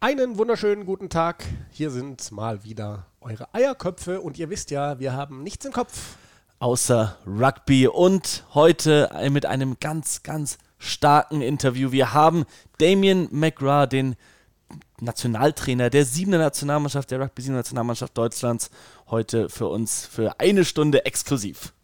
Einen wunderschönen guten Tag. Hier sind mal wieder eure Eierköpfe und ihr wisst ja, wir haben nichts im Kopf. Außer Rugby und heute mit einem ganz, ganz starken Interview. Wir haben Damien McGrath, den Nationaltrainer der 7. Nationalmannschaft, der Rugby 7. Nationalmannschaft Deutschlands, heute für uns für eine Stunde exklusiv.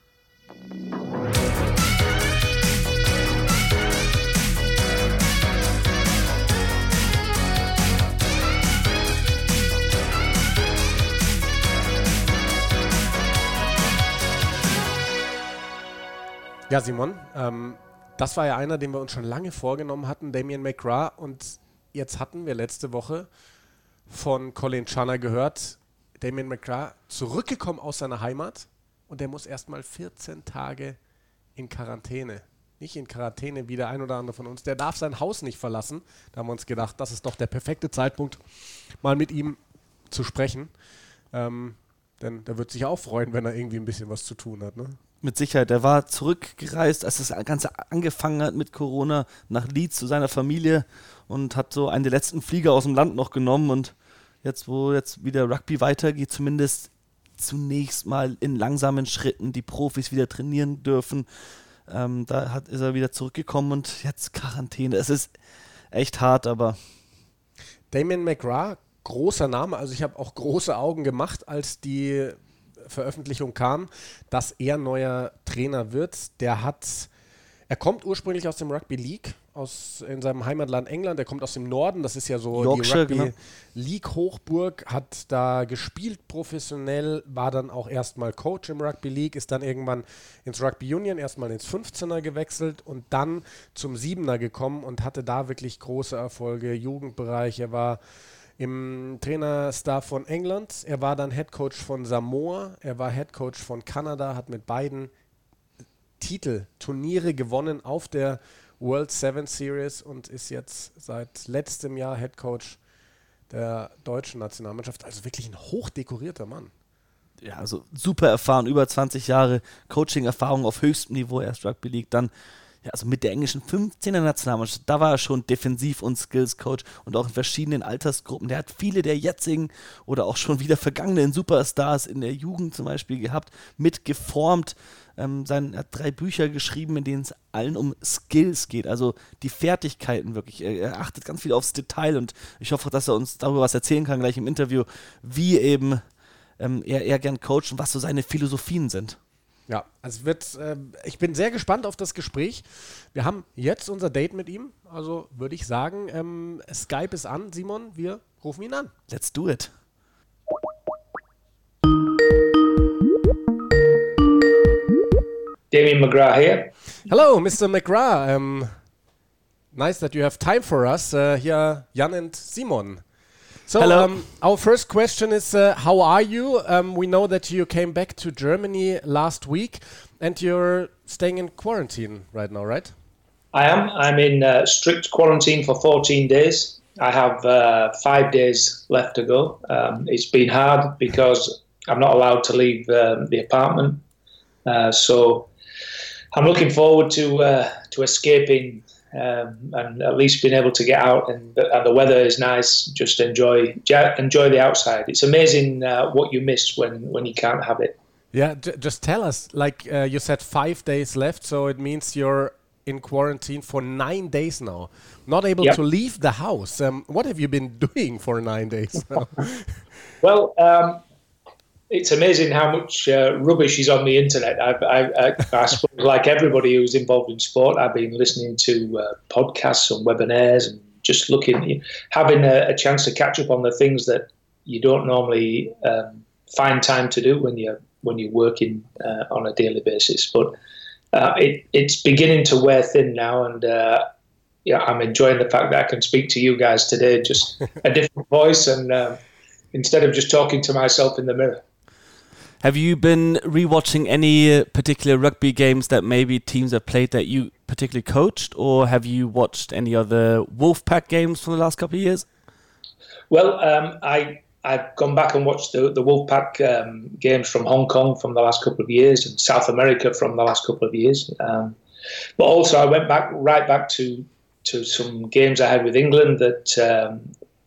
Ja, Simon, das war ja einer, den wir uns schon lange vorgenommen hatten, Damien McGrath. Und jetzt hatten wir letzte Woche von Colin Channer gehört, Damien McGrath zurückgekommen aus seiner Heimat und der muss erstmal 14 Tage in Quarantäne. Nicht in Quarantäne wie der ein oder andere von uns. Der darf sein Haus nicht verlassen. Da haben wir uns gedacht, das ist doch der perfekte Zeitpunkt, mal mit ihm zu sprechen. Denn der wird sich auch freuen, wenn er irgendwie ein bisschen was zu tun hat, ne? Mit Sicherheit. Er war zurückgereist, als das Ganze angefangen hat mit Corona, nach Leeds zu seiner Familie und hat so einen der letzten Flieger aus dem Land noch genommen. Und jetzt, wo jetzt wieder Rugby weitergeht, zumindest zunächst mal in langsamen Schritten die Profis wieder trainieren dürfen, ist er wieder zurückgekommen und jetzt Quarantäne. Es ist echt hart, aber... Damien McGrath, großer Name. Also ich habe auch große Augen gemacht, als die Veröffentlichung kam, dass er neuer Trainer wird. Er kommt ursprünglich aus dem Rugby League, in seinem Heimatland England. Er kommt aus dem Norden, das ist ja so Yorkshire, die Rugby League Hochburg, hat da gespielt professionell, war dann auch erstmal Coach im Rugby League, ist dann irgendwann ins Rugby Union, erstmal ins 15er gewechselt und dann zum 7er gekommen und hatte da wirklich große Erfolge, Jugendbereich. Er war im Trainerstaff von England, er war dann Headcoach von Samoa, er war Headcoach von Kanada, hat mit beiden Turniere gewonnen auf der World 7 Series und ist jetzt seit letztem Jahr Headcoach der deutschen Nationalmannschaft. Also wirklich ein hochdekorierter Mann. Ja, also super erfahren, über 20 Jahre Coaching-Erfahrung auf höchstem Niveau, erst Rugby League, dann also mit der englischen 15er Nationalmannschaft, da war er schon Defensiv- und Skills-Coach und auch in verschiedenen Altersgruppen. Der hat viele der jetzigen oder auch schon wieder vergangenen Superstars in der Jugend zum Beispiel gehabt, mitgeformt. Er hat 3 Bücher geschrieben, in denen es allen um Skills geht, also die Fertigkeiten wirklich. Er achtet ganz viel aufs Detail und ich hoffe, dass er uns darüber was erzählen kann gleich im Interview, wie eben er gern coacht und was so seine Philosophien sind. Ja, also ich bin sehr gespannt auf das Gespräch. Wir haben jetzt unser Date mit ihm, also würde ich sagen, Skype ist an, Simon, wir rufen ihn an. Let's do it. Damien McGrath here. Hello, Mr. McGrath. Nice that you have time for us. Here, Jan and Simon. So, our first question is, how are you? We know that you came back to Germany last week and you're staying in quarantine right now, right? I am. I'm in strict quarantine for 14 days. I have 5 days left to go. It's been hard because I'm not allowed to leave the apartment. So I'm looking forward to escaping and at least being able to get out and the weather is nice. Just enjoy the outside. It's amazing what you miss when you can't have it. Yeah, just tell us. Like you said, 5 days left, so it means you're in quarantine for 9 days now. Not able to leave the house. What have you been doing for 9 days now? Well, it's amazing how much rubbish is on the internet. I suppose, like everybody who's involved in sport, I've been listening to podcasts and webinars and just having a chance to catch up on the things that you don't normally find time to do when you're working on a daily basis. But it's beginning to wear thin now, and I'm enjoying the fact that I can speak to you guys today, just a different voice, and instead of just talking to myself in the mirror. Have you been rewatching any particular rugby games that maybe teams have played that you particularly coached, or have you watched any other Wolfpack games for the last couple of years? Well, I've gone back and watched the Wolfpack games from Hong Kong from the last couple of years and South America from the last couple of years. But also I went right back to some games I had with England that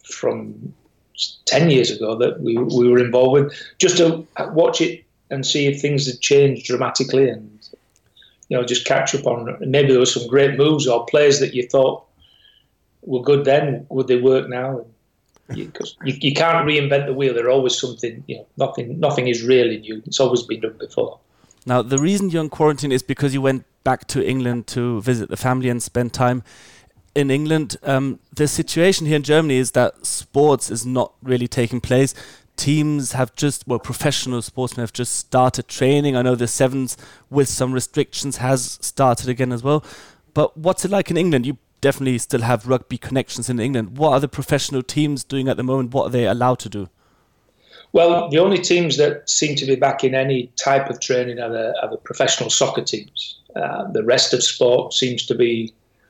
from 10 years ago that we were involved with, just to watch it and see if things had changed dramatically, and just catch up on maybe there were some great moves or plays that you thought were good then, would they work now? Because you can't reinvent the wheel. There's always something. Nothing is really new. It's always been done before. Now, the reason you're in quarantine is because you went back to England to visit the family and spend time in England. The situation here in Germany is that sports is not really taking place. Teams have professional sportsmen have just started training. I know the Sevens, with some restrictions, has started again as well. But what's it like in England? You definitely still have rugby connections in England. What are the professional teams doing at the moment? What are they allowed to do? Well, the only teams that seem to be back in any type of training are the professional soccer teams. The rest of sport seems to be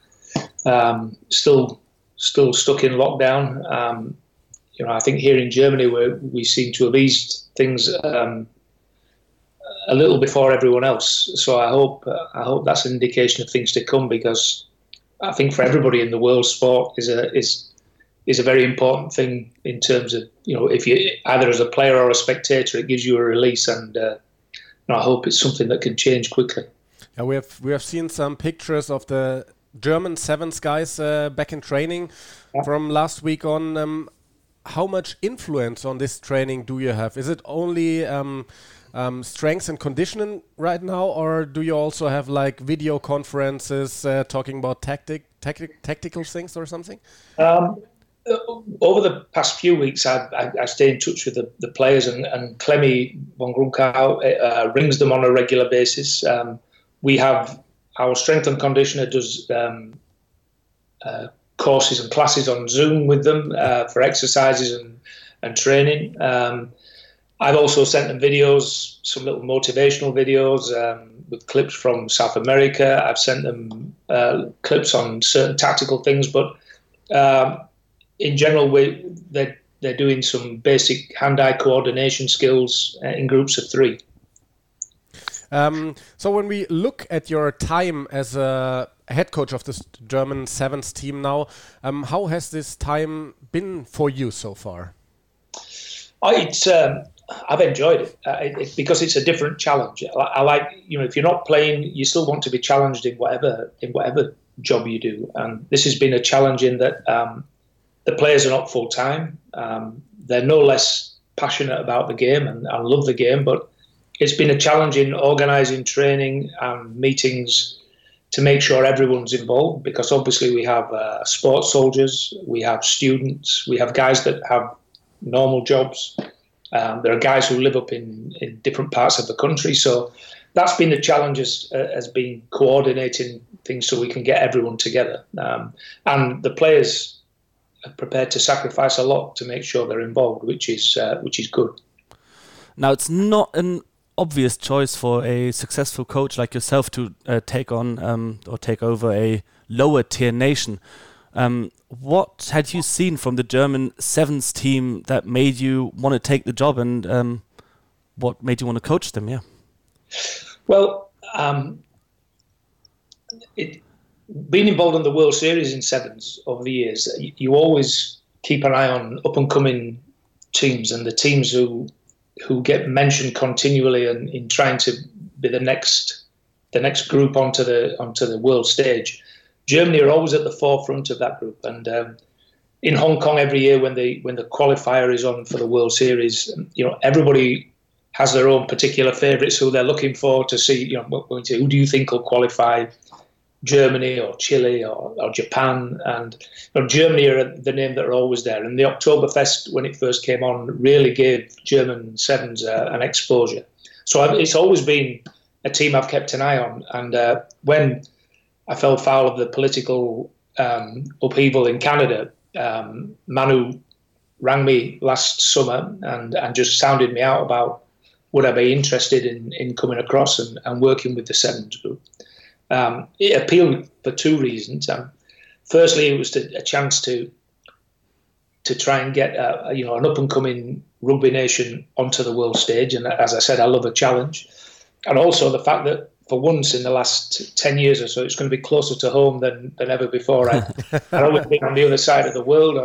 still stuck in lockdown. I think here in Germany we seem to have eased things a little before everyone else. So I hope that's an indication of things to come, because I think for everybody in the world, sport is a very important thing in terms of, if you either as a player or a spectator, it gives you a release, and I hope it's something that can change quickly. Yeah, we have seen some pictures of the German Sevens guys back in training from last week on. How much influence on this training do you have? Is it only strength and conditioning right now, or do you also have like video conferences talking about tactical things or something? Over the past few weeks, I stay in touch with the players, and Clemmy von Grunkau rings them on a regular basis. We have our strength and conditioner does courses and classes on Zoom with them for exercises and training. I've also sent them videos, some little motivational videos with clips from South America. I've sent them clips on certain tactical things, but in general, they're doing some basic hand-eye coordination skills in groups of 3. So when we look at your time as a head coach of this German Sevens team now, how has this time been for you so far? I've enjoyed it because it's a different challenge. I like, if you're not playing, you still want to be challenged in whatever job you do. And this has been a challenge in that the players are not full time. They're no less passionate about the game and love the game, but it's been a challenge in organising training and meetings to make sure everyone's involved, because obviously we have sports soldiers, we have students, we have guys that have normal jobs. There are guys who live up in different parts of the country. So that's been the challenge, has been coordinating things so we can get everyone together. And the players are prepared to sacrifice a lot to make sure they're involved, which is good. Now, it's not an obvious choice for a successful coach like yourself to take on or take over a lower tier nation. What had you seen from the German Sevens team that made you want to take the job, and what made you want to coach them? Yeah. Well, being involved in the World Series in Sevens over the years, you always keep an eye on up and coming teams and the teams who get mentioned continually and in trying to be the next group onto the world stage. Germany are always at the forefront of that group, and in Hong Kong every year when the qualifier is on for the World Series, everybody has their own particular favourites who they're looking for to see. Who do you think will qualify? Germany or Chile or Japan, and Germany are the name that are always there. And the Oktoberfest, when it first came on, really gave German Sevens an exposure. So it's always been a team I've kept an eye on. And when I fell foul of the political upheaval in Canada, Manu rang me last summer and just sounded me out about would I be interested in coming across and working with the Sevens group. It appealed for 2 reasons. Firstly, it was a chance to try and get an up and coming rugby nation onto the world stage, and as I said, I love a challenge, and also the fact that for once in the last 10 years or so, it's going to be closer to home than ever before. I've always been on the other side of the world,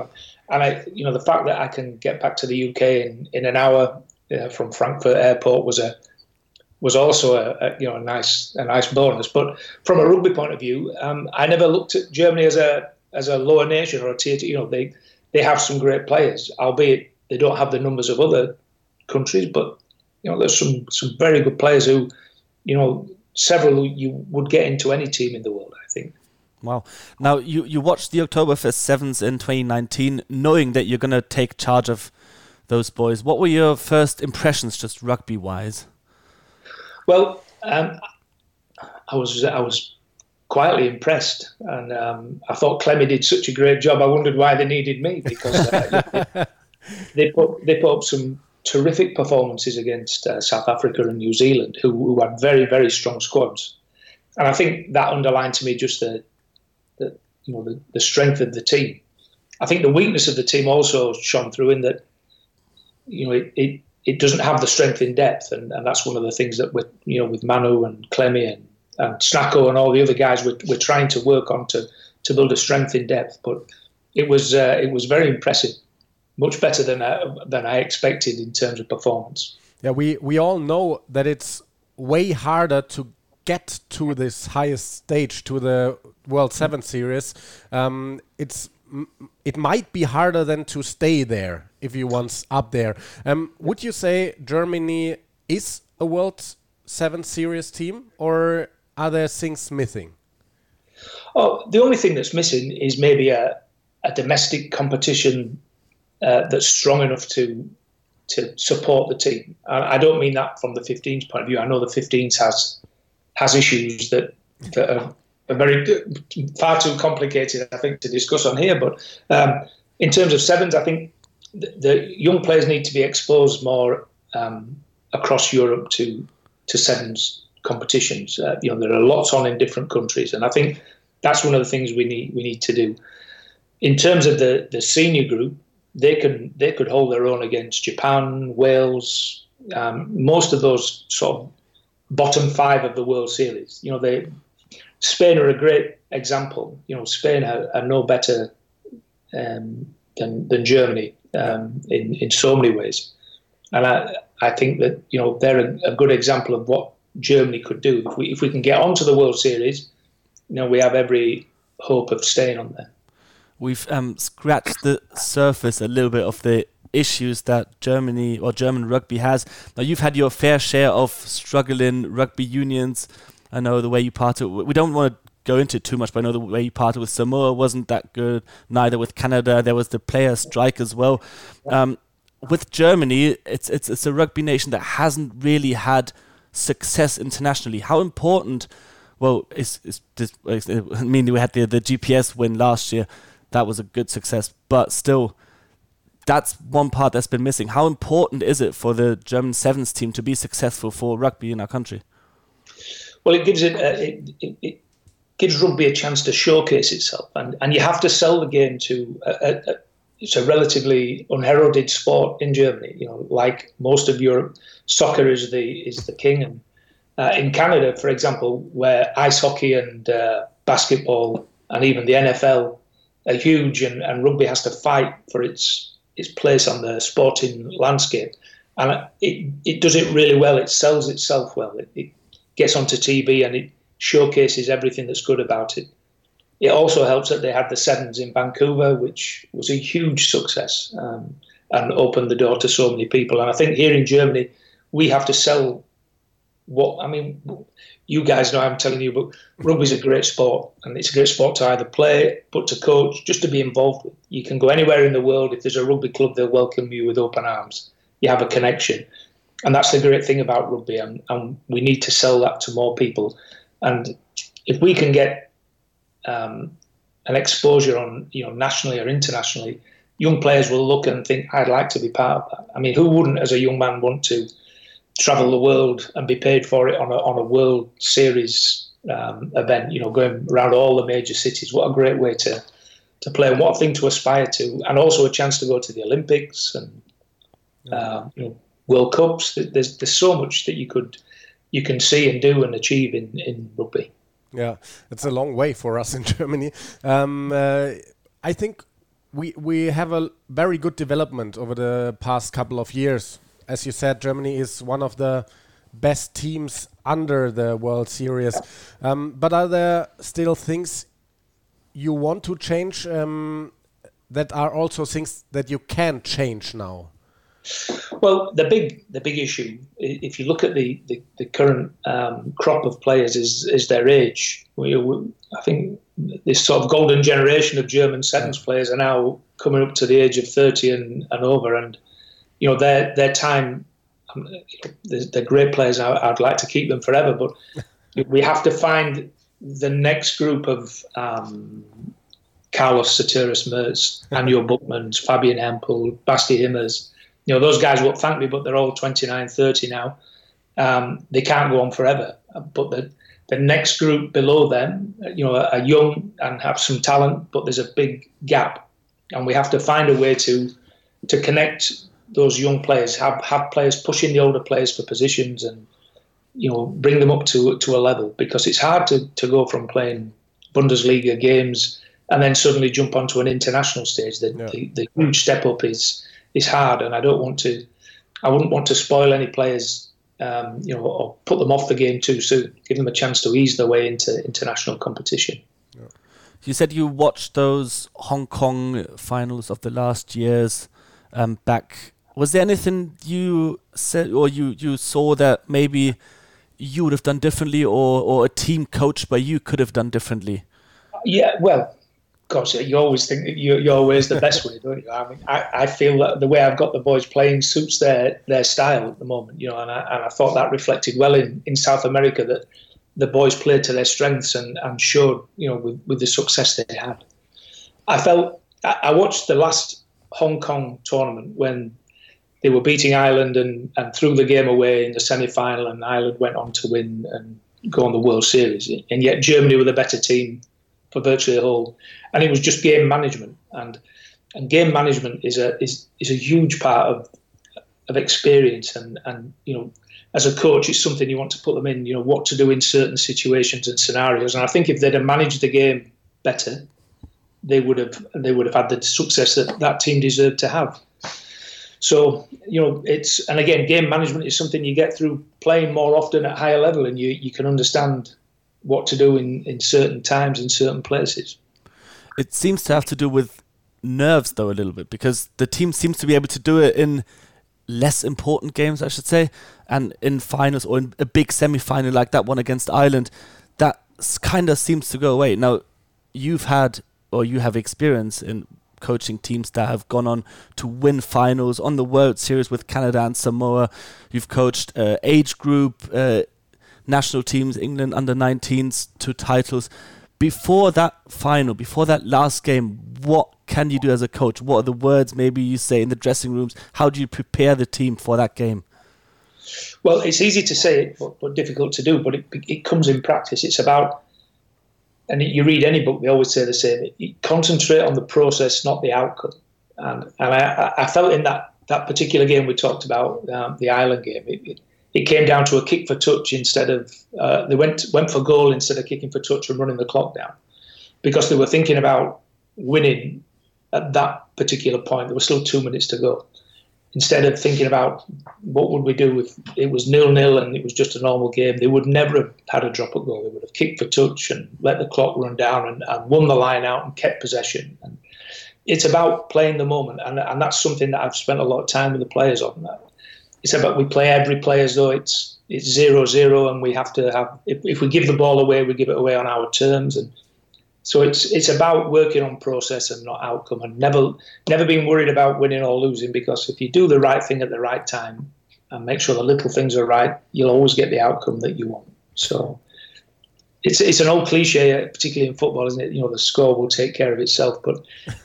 And the fact that I can get back to the UK in an hour from Frankfurt Airport was also a nice bonus. But from a rugby point of view, I never looked at Germany as a lower nation or a tier 2. They have some great players, albeit they don't have the numbers of other countries. But there's some very good players who, several you would get into any team in the world, I think. Wow. Now, you watched the Oktoberfest Sevens in 2019, knowing that you're going to take charge of those boys. What were your first impressions, just rugby-wise? Well, I was quietly impressed, and I thought Clemmy did such a great job. I wondered why they needed me, because they put up some terrific performances against South Africa and New Zealand, who had very, very strong squads. And I think that underlined to me just the strength of the team. I think the weakness of the team also shone through in that it doesn't have the strength in depth, and that's one of the things that with Manu and Clemmy and Snacko and all the other guys we're trying to work on to build a strength in depth. But it was very impressive, much better than I expected in terms of performance. Yeah, we all know that it's way harder to get to this highest stage, to the World 7 Series. It might be harder than to stay there if you once up there. Would you say Germany is a World 7 Series team, or are there things missing? Oh, the only thing that's missing is maybe a domestic competition that's strong enough to support the team. I don't mean that from the 15s point of view. I know the 15s has issues that are very far too complicated, I think, to discuss on here. But in terms of sevens, I think the young players need to be exposed more across Europe to sevens competitions. There are lots on in different countries, and I think that's one of the things we need to do. In terms of the senior group, they could hold their own against Japan, Wales, most of those sort of bottom 5 of the World Series. Spain are a great example. Spain are no better than Germany in so many ways, and I think that they're a good example of what Germany could do if we can get onto the World Series. We have every hope of staying on there. We've scratched the surface a little bit of the issues that Germany or German rugby has. Now, you've had your fair share of struggling rugby unions. I know the way you parted. We don't want to go into it too much, but I know the way you parted with Samoa wasn't that good. Neither with Canada. There was the player strike as well. With Germany, it's a rugby nation that hasn't really had success internationally. How important? Well, I mean, we had the GPS win last year. That was a good success, but still, that's one part that's been missing. How important is it for the German Sevens team to be successful for rugby in our country? Well, it gives rugby a chance to showcase itself, and you have to sell the game to it's a relatively unheralded sport in Germany. Like most of Europe, soccer is the king, and in Canada, for example, where ice hockey and basketball and even the NFL are huge, and rugby has to fight for its place on the sporting landscape, and it does it really well. It sells itself well. It gets onto TV and it showcases everything that's good about it. It also helps that they had the Sevens in Vancouver, which was a huge success and opened the door to so many people. And I think here in Germany, we have to sell you guys know I'm telling you, but rugby's a great sport, and it's a great sport to either play, but to coach, just to be involved with. You can go anywhere in the world. If there's a rugby club, they'll welcome you with open arms. You have a connection. And that's the great thing about rugby, and we need to sell that to more people. And if we can get an exposure on, nationally or internationally, young players will look and think, I'd like to be part of that. I mean, who wouldn't, as a young man, want to travel the world and be paid for it on a World Series event, going around all the major cities? What a great way to play, and what a thing to aspire to, and also a chance to go to the Olympics and World Cups. There's so much that you can see and do and achieve in rugby. Yeah, it's a long way for us in Germany. I think we have a very good development over the past couple of years. As you said, Germany is one of the best teams under the World Series. But are there still things you want to change that are also things that you can change now? Well, the big issue, if you look at the current crop of players, is their age. I think this sort of golden generation of German sevens players are now coming up to the age of 30 and over, and their time. They're great players. I'd like to keep them forever, but we have to find the next group of Carlos Soteris Mertz, Anjo Buchmans, Fabian Hempel, Basti Himmers. Those guys won't thank me, but they're all 29, 30 now. They can't go on forever. But the next group below them, are young and have some talent, but there's a big gap. And we have to find a way to connect those young players, have players pushing the older players for positions and, bring them up to a level, because it's hard to go from playing Bundesliga games and then suddenly jump onto an international stage. The huge step up is hard, and I wouldn't want to spoil any players, or put them off the game too soon. Give them a chance to ease their way into international competition. Yeah. You said you watched those Hong Kong finals of the last years back. Was there anything you said or you saw that maybe you would have done differently, or a team coached by you could have done differently? Yeah, well, of course, you always think that you're always the best way, don't you? I mean, I feel that the way I've got the boys playing suits their style at the moment, and I thought that reflected well in South America, that the boys played to their strengths and showed, with the success they had. I watched the last Hong Kong tournament when they were beating Ireland and threw the game away in the semi-final, and Ireland went on to win and go on the World Series. And yet Germany were the better team for virtually the whole. And it was just game management. And game management is a huge part of experience. And as a coach, it's something you want to put them in, what to do in certain situations and scenarios. And I think if they'd have managed the game better, they would have had the success that team deserved to have. So, and again, game management is something you get through playing more often at higher level, and you can understand what to do in certain times, in certain places. It seems to have to do with nerves, though, a little bit, because the team seems to be able to do it in less important games, I should say, and in finals or in a big semi-final like that one against Ireland, that kind of seems to go away. Now, you have experience in coaching teams that have gone on to win finals on the World Series with Canada and Samoa. You've coached age group national teams, England under-19s, to titles. Before that final, before that last game, what can you do as a coach? What are the words maybe you say in the dressing rooms? How do you prepare the team for that game? Well, it's easy to say it, but difficult to do, but it comes in practice. It's about, and you read any book, they always say the same. You concentrate on the process, not the outcome. And I felt in that particular game we talked about, the Ireland game, it came down to a kick for touch instead of they went for goal instead of kicking for touch and running the clock down, because they were thinking about winning at that particular point. There were still 2 minutes to go. Instead of thinking about what would we do if it was 0-0 and it was just a normal game, they would never have had a drop at goal. They would have kicked for touch and let the clock run down and won the line out and kept possession. And it's about playing the moment, and that's something that I've spent a lot of time with the players on. It's about, we play every play as though it's 0-0, and we have to have, if we give the ball away, we give it away on our terms. And so it's about working on process and not outcome, and never being worried about winning or losing, because if you do the right thing at the right time and make sure the little things are right, you'll always get the outcome that you want. So it's an old cliche, particularly in football, isn't it? The score will take care of itself, but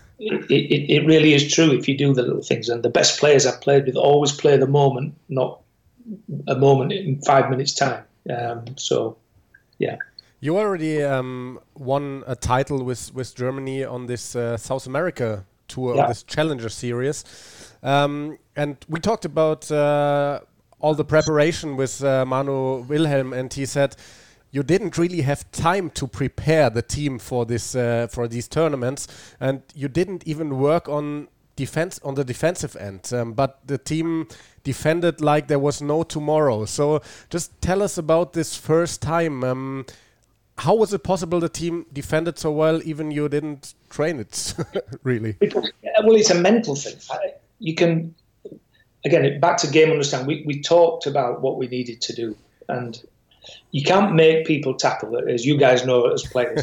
it really is true if you do the little things. And the best players I've played with always play the moment, not a moment in 5 minutes' time. So, yeah. You already won a title with Germany on this South America tour, this Challenger Series. And we talked about all the preparation with Manu Wilhelm, and he said you didn't really have time to prepare the team for this for these tournaments, and you didn't even work on the defensive end. But the team defended like there was no tomorrow. So just tell us about this first time. How was it possible the team defended so well, even you didn't train it, really? Well, it's a mental thing. You can, again, back to game understanding. We talked about what we needed to do, and you can't make people tackle it, as you guys know as players.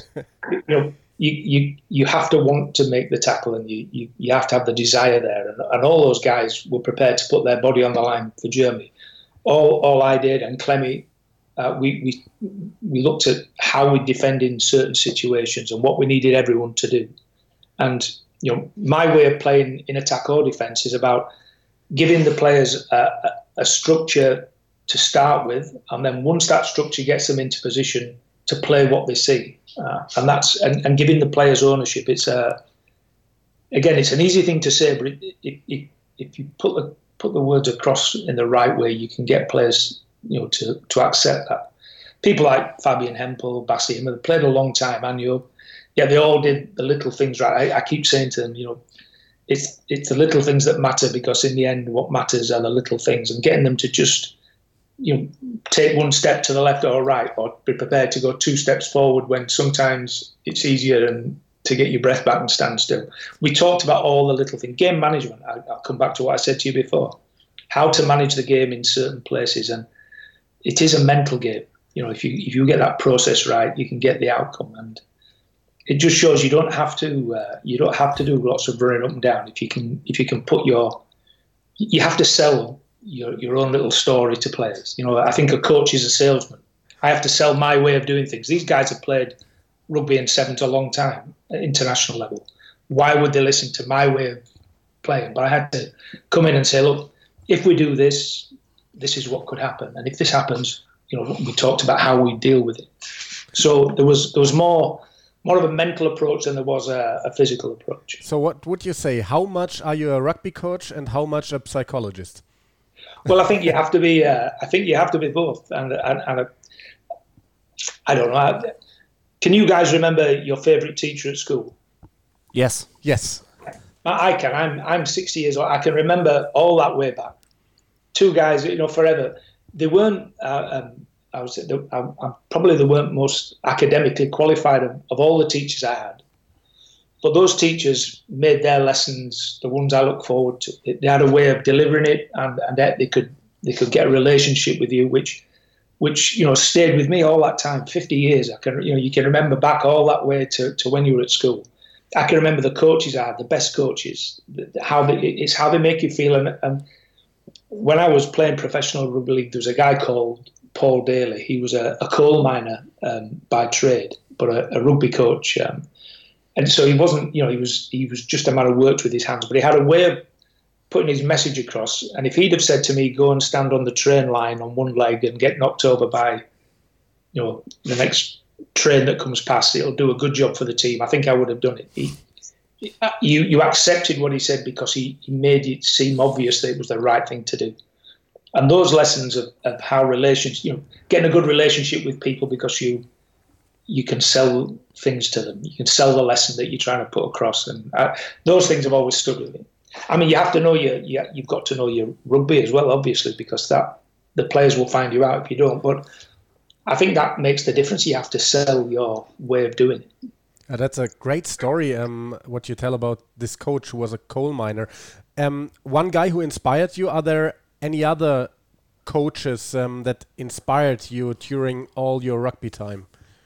You have to want to make the tackle, and you have to have the desire there. And all those guys were prepared to put their body on the line for Germany. All I did, and Clemmy, we looked at how we defend in certain situations and what we needed everyone to do. And my way of playing in attack or defence is about giving the players a structure to start with, and then once that structure gets them into position to play what they see, and giving the players ownership. It's it's an easy thing to say, but if you put the words across in the right way, you can get players to accept that. People like Fabian Hempel, Bassi, have played a long time, and they all did the little things right. I keep saying to them, it's the little things that matter, because in the end, what matters are the little things, and getting them to just take one step to the left or right, or be prepared to go 2 steps forward when sometimes it's easier and to get your breath back and stand still. We talked about all the little things. Game management, I'll come back to what I said to you before. How to manage the game in certain places, and it is a mental game. If you get that process right, you can get the outcome, and it just shows you don't have to do lots of running up and down. If you can put you have to sell your own little story to players. I think a coach is a salesman. I have to sell my way of doing things. These guys have played rugby in sevens a long time at international level. Why would they listen to my way of playing? But I had to come in and say, look, if we do this, this is what could happen. And if this happens, we talked about how we deal with it. So there was more of a mental approach than there was a physical approach. So what would you say? How much are you a rugby coach and how much a psychologist? Well, I think you have to be. Both, and I don't know. Can you guys remember your favourite teacher at school? Yes. I can. I'm 60 years old. I can remember all that way back. 2 guys, forever. They weren't. I would say probably they weren't most academically qualified of all the teachers I had. But those teachers made their lessons the ones I look forward to. They had a way of delivering it, and they could get a relationship with you, which stayed with me all that time, 50 years. I can you can remember back all that way to when you were at school. I can remember the coaches I had, the best coaches, how they make you feel. And when I was playing professional rugby league, there was a guy called Paul Daly. He was a coal miner by trade, but a rugby coach. And so he wasn't, he was just a man who worked with his hands, but he had a way of putting his message across. And if he'd have said to me, go and stand on the train line on one leg and get knocked over by, the next train that comes past, it'll do a good job for the team, I think I would have done it. You accepted what he said because he made it seem obvious that it was the right thing to do. And those lessons of how getting a good relationship with people because you can sell things to them. You can sell the lesson that you're trying to put across, and those things have always stood with me. I mean, you have to know you've got to know your rugby as well, obviously, because the players will find you out if you don't. But I think that makes the difference. You have to sell your way of doing it. That's a great story. What you tell about this coach who was a coal miner. One guy who inspired you. Are there any other coaches that inspired you during all your rugby time?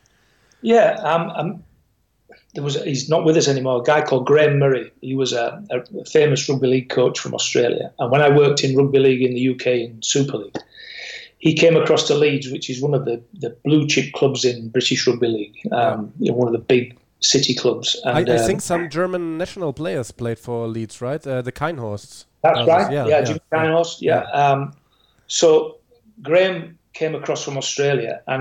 Yeah, he's not with us anymore. A guy called Graham Murray. He was a famous rugby league coach from Australia. And when I worked in rugby league in the UK in Super League, he came across to Leeds, which is one of the blue chip clubs in British rugby league. One of the big city clubs. And, I think some German national players played for Leeds, right? The Kienhorsts. That's right. Yeah, Jim Kienhorst. Yeah. So Graham came across from Australia, and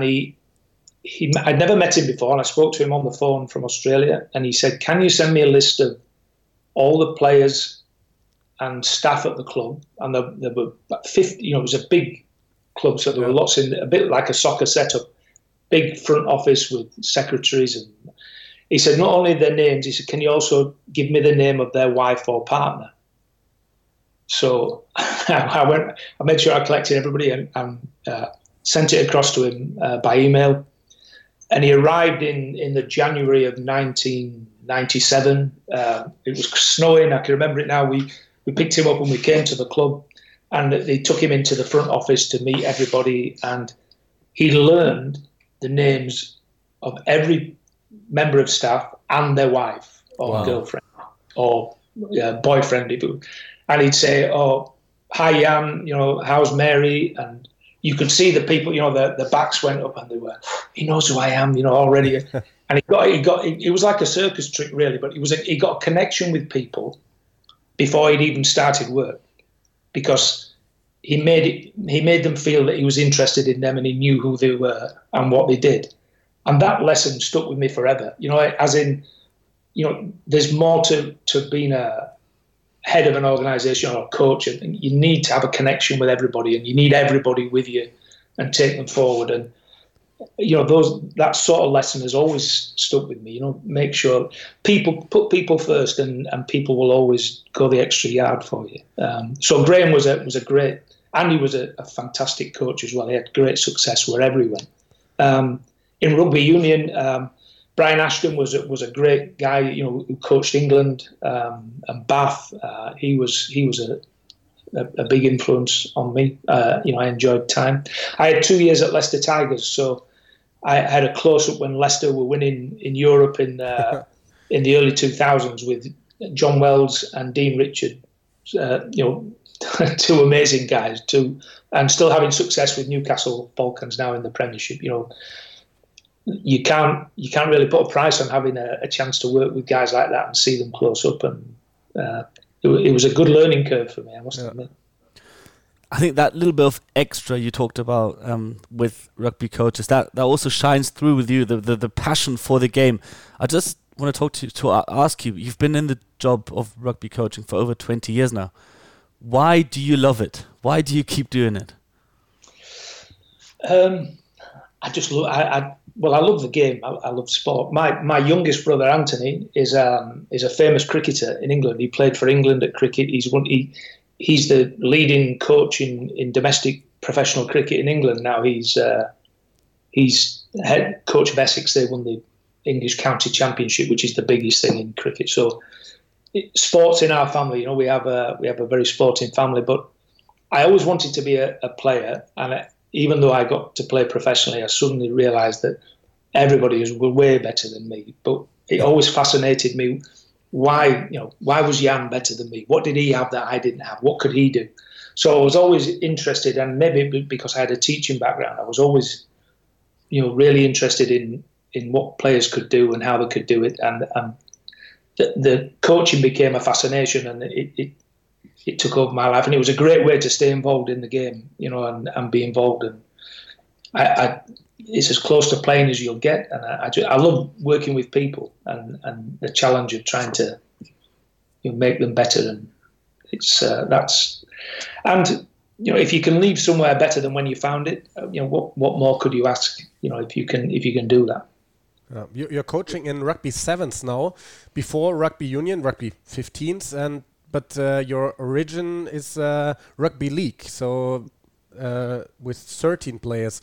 I'd never met him before, and I spoke to him on the phone from Australia, and he said, can you send me a list of all the players and staff at the club? And there were 50, it was a big club, so there were lots in, a bit like a soccer setup. big front office with secretaries, and he said not only their names, he said, can you also give me the name of their wife or partner? So I made sure I collected everybody and sent it across to him by email. And he arrived in the January of 1997. It was snowing. I can remember it now. We picked him up and we came to the club, and they took him into the front office to meet everybody. And he learned the names of every member of staff and their wife or girlfriend or boyfriend. And he'd say, "Oh, hi, Jan. How's Mary?" And you could see the people, the backs went up and they were, he knows who I am, already. And it was like a circus trick, really, but he got a connection with people before he'd even started work, because he made them feel that he was interested in them and he knew who they were and what they did. And that lesson stuck with me forever, as in, there's more to being a head of an organisation or a coach, and you need to have a connection with everybody, and you need everybody with you and take them forward. And that sort of lesson has always stuck with me. Make sure put people first, and people will always go the extra yard for you. So Graham was a great, and he was a fantastic coach as well. He had great success wherever he went. In rugby union, Brian Ashton was a great guy, who coached England and Bath. He was a big influence on me. I enjoyed time. I had 2 years at Leicester Tigers, so I had a close up when Leicester were winning in Europe in the early 2000s with John Wells and Dean Richard. Two amazing guys, and still having success with Newcastle Falcons now in the Premiership. You can't really put a price on having a chance to work with guys like that and see them close up, and it was a good learning curve for me, I must admit. I think that little bit of extra you talked about with rugby coaches, that also shines through with you, the passion for the game. I just want to ask you, you've been in the job of rugby coaching for over 20 years now. Why do you love it? Why do you keep doing it? I love the game. I love sport. My youngest brother Anthony is a famous cricketer in England. He played for England at cricket. He's the leading coach in domestic professional cricket in England now. He's head coach of Essex. They won the English County Championship, which is the biggest thing in cricket. So, sports in our family. We have a very sporting family. But I always wanted to be a player, and even though I got to play professionally, I suddenly realised that everybody was way better than me. But it always fascinated me. Why was Jan better than me? What did he have that I didn't have? What could he do? So I was always interested, and maybe because I had a teaching background, I was always, really interested in what players could do and how they could do it. And the coaching became a fascination, and it took over my life, and it was a great way to stay involved in the game, and be involved. And it's as close to playing as you'll get, and I love working with people and the challenge of trying to make them better. And it's if you can leave somewhere better than when you found it, what more could you ask? If you can do that. You're coaching in rugby sevens now, before rugby union, rugby 15s, but your origin is rugby league, so with 13 players.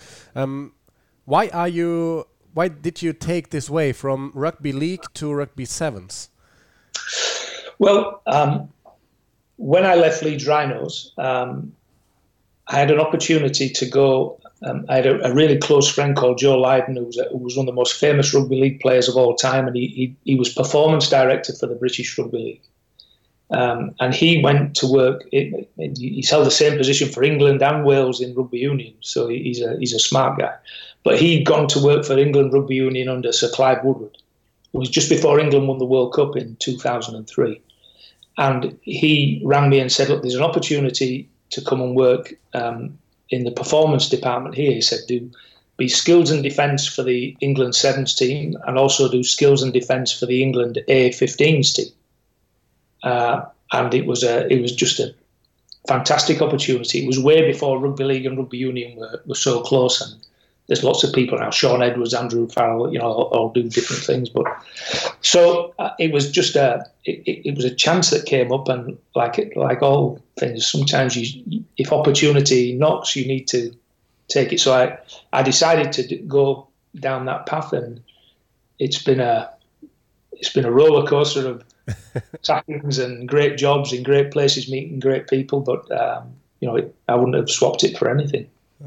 Why did you take this way from rugby league to rugby sevens? Well, when I left Leeds Rhinos, I had an opportunity to go. I had a really close friend called Joe Lydon, who was one of the most famous rugby league players of all time, and he was performance director for the British Rugby League. And he went to work. He's held the same position for England and Wales in rugby union, so he's a smart guy. But he'd gone to work for England Rugby Union under Sir Clive Woodward. It was just before England won the World Cup in 2003. And he rang me and said, look, there's an opportunity to come and work in the performance department here. He said, be skills and defence for the England Sevens team, and also do skills and defence for the England A15s team. And it was just a fantastic opportunity. It was way before rugby league and rugby union were so close, and there's lots of people now. Sean Edwards, Andrew Farrell, all do different things. But so it was just it was a chance that came up, and like all things, sometimes if opportunity knocks, you need to take it. So I decided to go down that path, and it's been a roller coaster of sackings and great jobs in great places, meeting great people. But I wouldn't have swapped it for anything.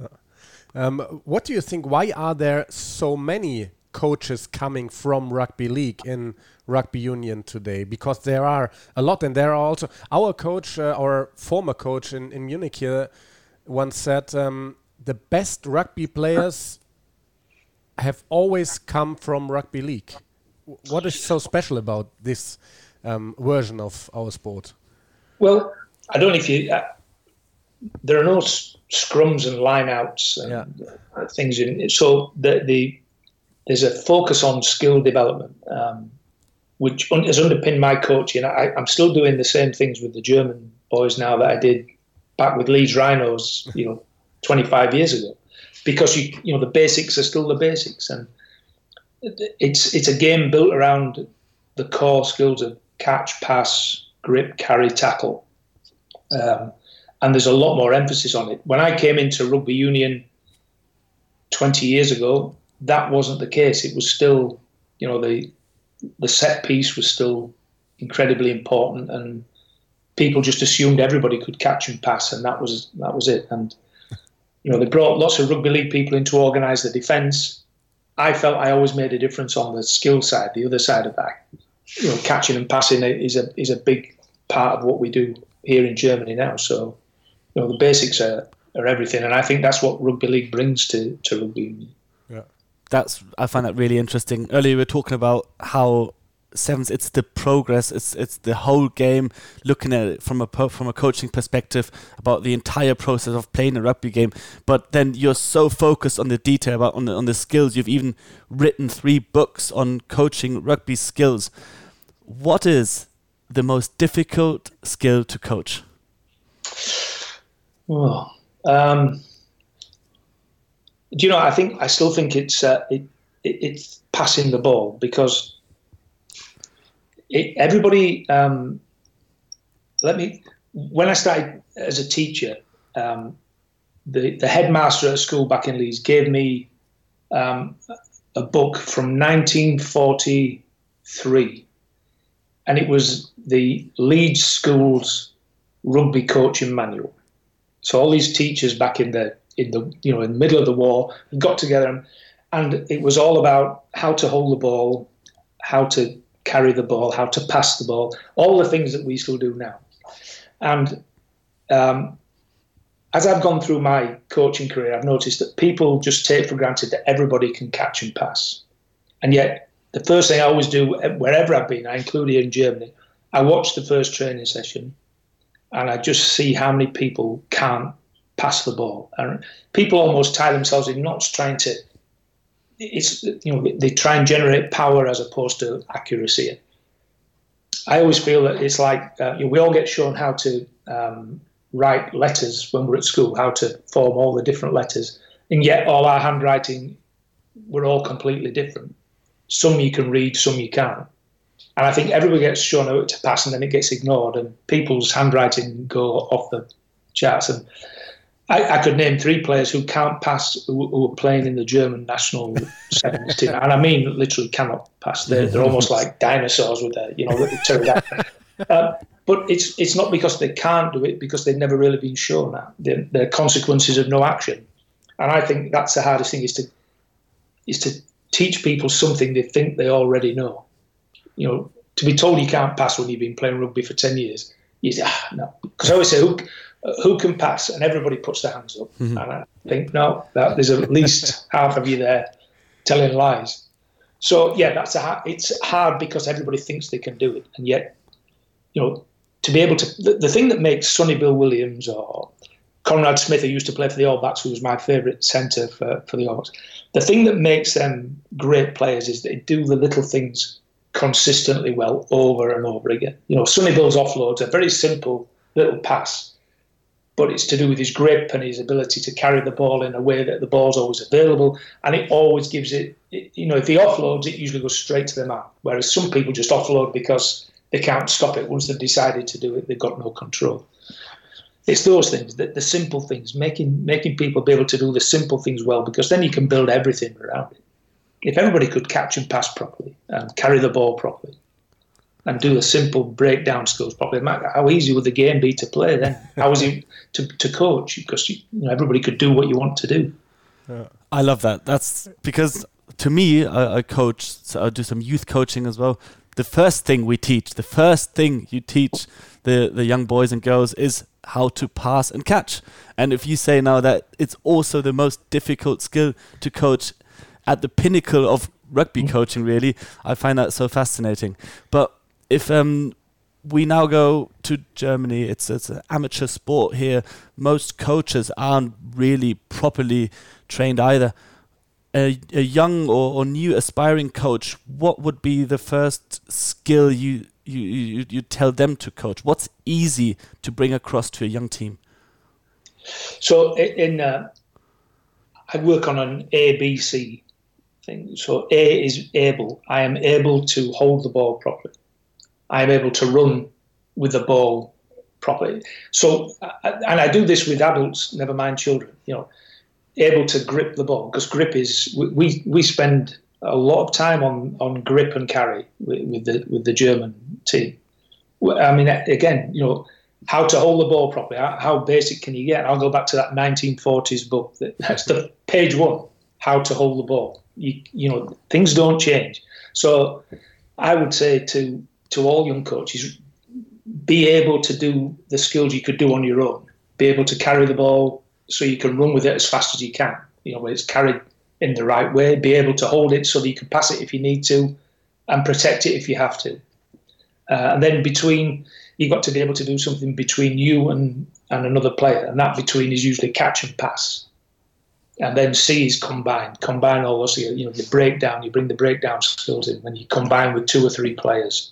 What do you think? Why are there so many coaches coming from rugby league in rugby union today? Because there are a lot, and there are also our coach, our former coach in Munich here, once said the best rugby players have always come from rugby league. What is so special about this version of our sport? Well, I don't know if you. There are no scrums and lineouts and things in it. So there's a focus on skill development, which has underpinned my coaching. I'm still doing the same things with the German boys now that I did back with Leeds Rhinos, 25 years ago, because the basics are still the basics, and it's a game built around the core skills of catch, pass, grip, carry, tackle. And there's a lot more emphasis on it. When I came into rugby union 20 years ago, that wasn't the case. It was still, the set piece was still incredibly important, and people just assumed everybody could catch and pass, and that was it. And they brought lots of rugby league people in to organise the defence. I felt I always made a difference on the skill side, the other side of that. Catching and passing is a big part of what we do here in Germany now. So, the basics are everything, and I think that's what rugby league brings to rugby union. Yeah, I find that really interesting. Earlier we were talking about how sevens, it's the progress, it's the whole game, looking at it from a coaching perspective about the entire process of playing a rugby game. But then you're so focused on the detail, on the skills. You've even written 3 books on coaching rugby skills. What is the most difficult skill to coach? Oh, I still think it's passing the ball, because everybody. When I started as a teacher, the headmaster at a school back in Leeds gave me a book from 1943, and it was the Leeds School's rugby coaching manual. So all these teachers back in the middle of the war got together, and it was all about how to hold the ball, how to carry the ball, how to pass the ball, all the things that we still do now. And as I've gone through my coaching career, I've noticed that people just take for granted that everybody can catch and pass. And yet, the first thing I always do, wherever I've been, I include here in Germany, I watch the first training session, and I just see how many people can't pass the ball. And people almost tie themselves in knots trying to, they try and generate power as opposed to accuracy. I always feel that it's like we all get shown how to write letters when we're at school, how to form all the different letters, and yet all our handwriting, we're all completely different. Some you can read, some you can't. And I think everybody gets shown how to pass, and then it gets ignored, and people's handwriting go off the charts. And I could name 3 players who can't pass, who are playing in the German national sevens team, and I mean literally cannot pass. They're almost like dinosaurs with their, little pterodactyl. But it's not because they can't do it, because they've never really been shown that. They're consequences of no action. And I think that's the hardest thing, is to teach people something they think they already know. To be told you can't pass when you've been playing rugby for 10 years, you say, no. Because I always say, who can pass? And everybody puts their hands up. Mm-hmm. And I think, no, there's at least half of you there telling lies. So, yeah, it's hard because everybody thinks they can do it. And yet, to be able to... The thing that makes Sonny Bill Williams or Conrad Smith, who used to play for the All Blacks, who was my favourite centre for the All Blacks, the thing that makes them great players is they do the little things consistently well over and over again. Sonny Bill's offloads, a very simple little pass, but it's to do with his grip and his ability to carry the ball in a way that the ball's always available, and it always gives it, if he offloads, it usually goes straight to the man, whereas some people just offload because they can't stop it. Once they've decided to do it, they've got no control. It's those things, the simple things, making people be able to do the simple things well, because then you can build everything around it. If everybody could catch and pass properly and carry the ball properly and do the simple breakdown skills properly, how easy would the game be to play then? How easy to coach? Because everybody could do what you want to do. Yeah. I love that. That's because to me, I coach, so I do some youth coaching as well. The first thing you teach the young boys and girls is how to pass and catch. And if you say now that it's also the most difficult skill to coach at the pinnacle of rugby coaching, really, I find that so fascinating. But if we now go to Germany, it's an amateur sport here. Most coaches aren't really properly trained either. A young or new aspiring coach, what would be the first skill you tell them to coach? What's easy to bring across to a young team? So I work on an ABC thing. So A is able. I am able to hold the ball properly. I am able to run with the ball properly. So, and I do this with adults, never mind children, able to grip the ball, because grip is, we spend a lot of time on grip and carry with the German team. I mean, again, how to hold the ball properly, how basic can you get? I'll go back to that 1940s book. That's the page 1, how to hold the ball. Things don't change. So I would say to all young coaches, be able to do the skills you could do on your own. Be able to carry the ball so you can run with it as fast as you can, where it's carried in the right way. Be able to hold it so that you can pass it if you need to and protect it if you have to. And then you've got to be able to do something between you and another player. And that between is usually catch and pass. And then C is combine all those, the breakdown, you bring the breakdown skills in when you combine with 2 or 3 players.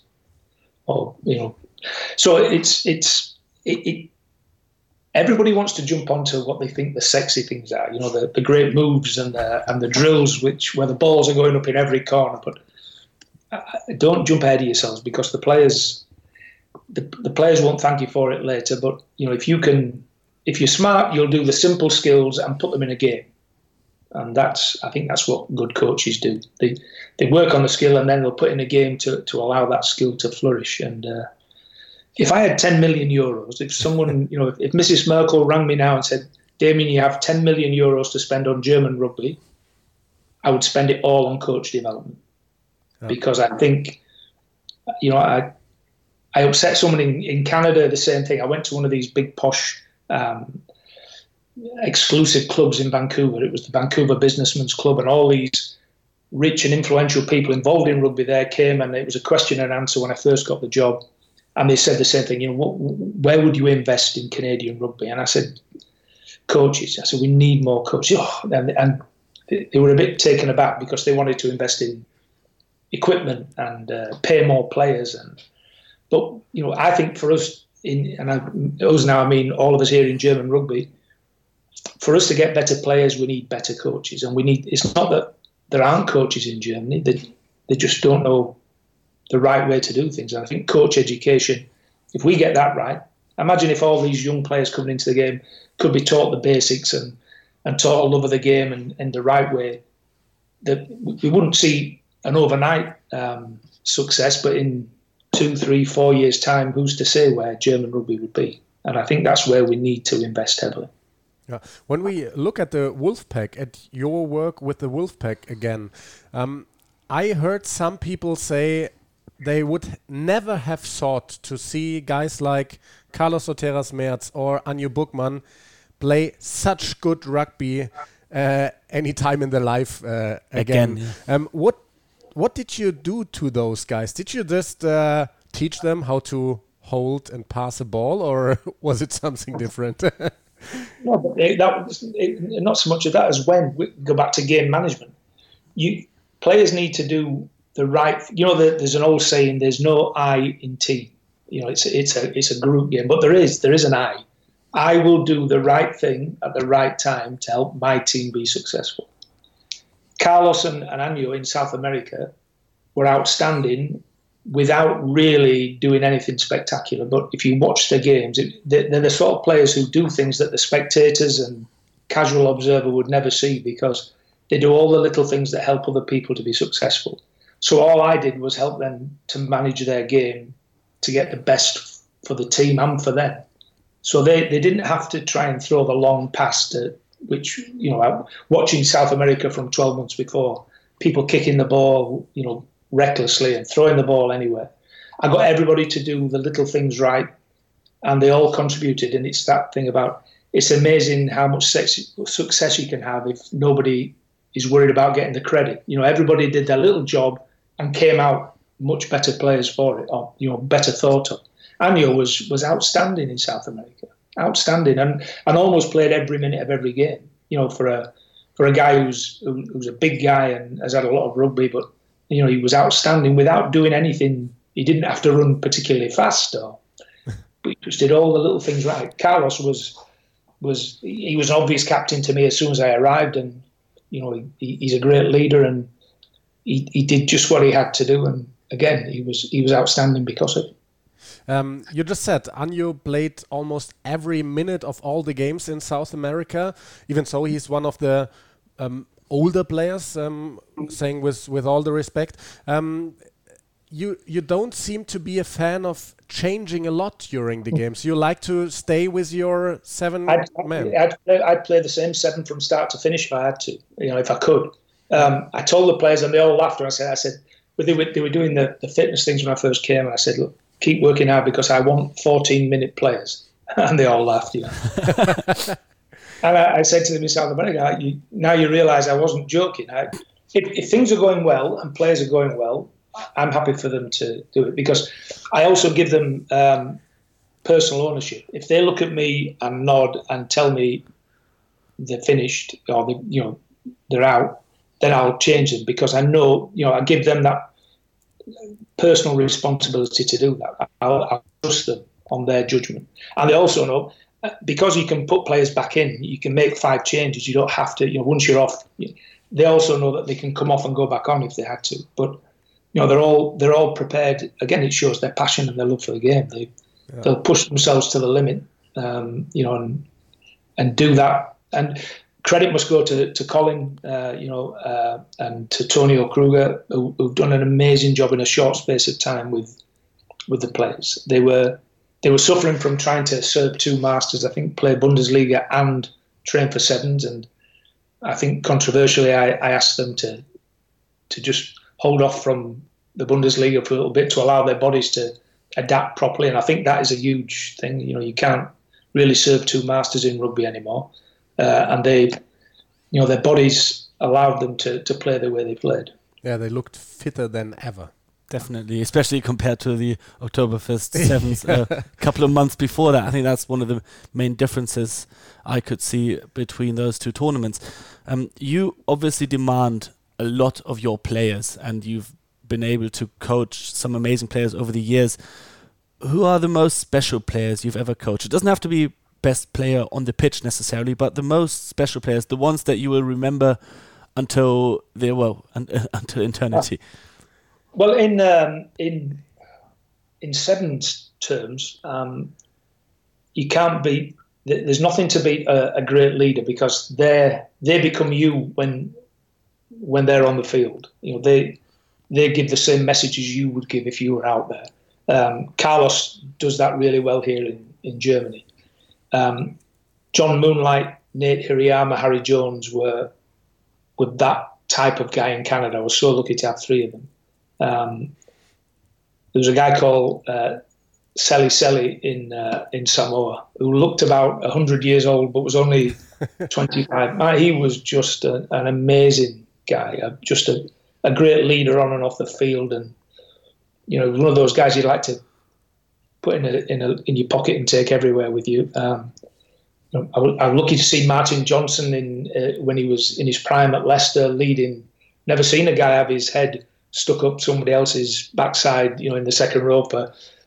So it everybody wants to jump onto what they think the sexy things are, the great moves and the drills where the balls are going up in every corner. But don't jump ahead of yourselves, because the players won't thank you for it later. But if you're smart, you'll do the simple skills and put them in a game. And I think that's what good coaches do. They work on the skill and then they'll put in a game to allow that skill to flourish. And if I had 10 million euros, if someone, if Mrs. Merkel rang me now and said, Damien, you have 10 million euros to spend on German rugby, I would spend it all on coach development. Oh. Because I think, I upset someone in Canada, the same thing. I went to one of these big posh exclusive clubs in Vancouver. It was the Vancouver Businessmen's Club, and all these rich and influential people involved in rugby there came, and it was a question and answer when I first got the job. And they said the same thing, where would you invest in Canadian rugby? And I said, coaches. I said, we need more coaches. Oh, and they were a bit taken aback, because they wanted to invest in equipment and pay more players. But I think for us, us now, I mean all of us here in German rugby, for us to get better players, we need better coaches. And it's not that there aren't coaches in Germany, they just don't know the right way to do things. And I think coach education, if we get that right, imagine if all these young players coming into the game could be taught the basics and taught a love of the game and the right way, that we wouldn't see an overnight success, but in 2, 3, 4 years' time, who's to say where German rugby would be? And I think that's where we need to invest heavily. Yeah. When we look at the Wolfpack, at your work with the Wolfpack again, I heard some people say they would never have thought to see guys like Carlos Soteras Merz or Anjo Buchmann play such good rugby any time in their life again. Yeah. What did you do to those guys? Did you just teach them how to hold and pass a ball, or was it something different? No, but not so much of that as when we go back to game management. Players need to do the right. There's an old saying: "There's no I in team." It's a group game, but there is an I, I will do the right thing at the right time to help my team be successful. Carlos and Anyo in South America were outstanding without really doing anything spectacular. But if you watch their games, they're the sort of players who do things that the spectators and casual observer would never see, because they do all the little things that help other people to be successful. So all I did was help them to manage their game to get the best for the team and for them. So they didn't have to try and throw the long pass to, which, watching South America from 12 months before, people kicking the ball, recklessly and throwing the ball anywhere. I got everybody to do the little things right, and they all contributed. And it's that thing about, it's amazing how much success you can have if nobody is worried about getting the credit. Everybody did their little job and came out much better players for it, or better thought of. Anyo was outstanding in South America, outstanding, and almost played every minute of every game. For a guy who's a big guy and has had a lot of rugby, but he was outstanding without doing anything. He didn't have to run particularly fast, but he just did all the little things right. Carlos was an obvious captain to me as soon as I arrived, and he's a great leader, and he did just what he had to do, and again he was outstanding because of it. You just said Anyo played almost every minute of all the games in South America. Even so, he's one of the older players, saying with all the respect. You don't seem to be a fan of changing a lot during the games. You like to stay with your 7 men. I'd play the same 7 from start to finish if I had to, if I could. I told the players, and they all laughed, and I said, they were doing the fitness things when I first came, and I said, look, keep working hard because I want 14-minute players. And they all laughed, And I said to them in South America, now you realise I wasn't joking. If things are going well and players are going well, I'm happy for them to do it, because I also give them personal ownership. If they look at me and nod and tell me they're finished or they're out, then I'll change them, because I know, I give them that personal responsibility to do that. I'll trust them on their judgment. And they also know, because you can put players back in, you can make 5 changes. You don't have to, once you're off, they also know that they can come off and go back on if they had to. But, they're all prepared. Again, it shows their passion and their love for the game. They'll push themselves to the limit, and do that. And credit must go to Colin, and to Tonio Kruger, who've done an amazing job in a short space of time with the players. They were suffering from trying to serve 2 masters. I think play Bundesliga and train for 7s, and I think controversially, I asked them to just hold off from the Bundesliga for a little bit to allow their bodies to adapt properly. And I think that is a huge thing. You can't really serve 2 masters in rugby anymore. And their bodies allowed them to play the way they played. Yeah, they looked fitter than ever. Definitely, especially compared to the Oktoberfest 7s a couple of months before that. I think that's one of the main differences I could see between those 2 tournaments. You obviously demand a lot of your players, and you've been able to coach some amazing players over the years. Who are the most special players you've ever coached? It doesn't have to be best player on the pitch necessarily, but the most special players, the ones that you will remember until until eternity. Well, in 7s terms, you can't beat. There's nothing to beat a great leader, because they become you when they're on the field. They give the same messages you would give if you were out there. Carlos does that really well here in Germany. John Moonlight, Nate Hirayama, Harry Jones were that type of guy in Canada. I was so lucky to have 3 of them. There was a guy called Seli Seli in Samoa, who looked about 100 years old but was only 25. He was just an amazing guy, just a great leader on and off the field, and one of those guys you'd like to put in your pocket and take everywhere with you. I'm lucky to see Martin Johnson when he was in his prime at Leicester leading. Never seen a guy have his head stuck up somebody else's backside, in the second row for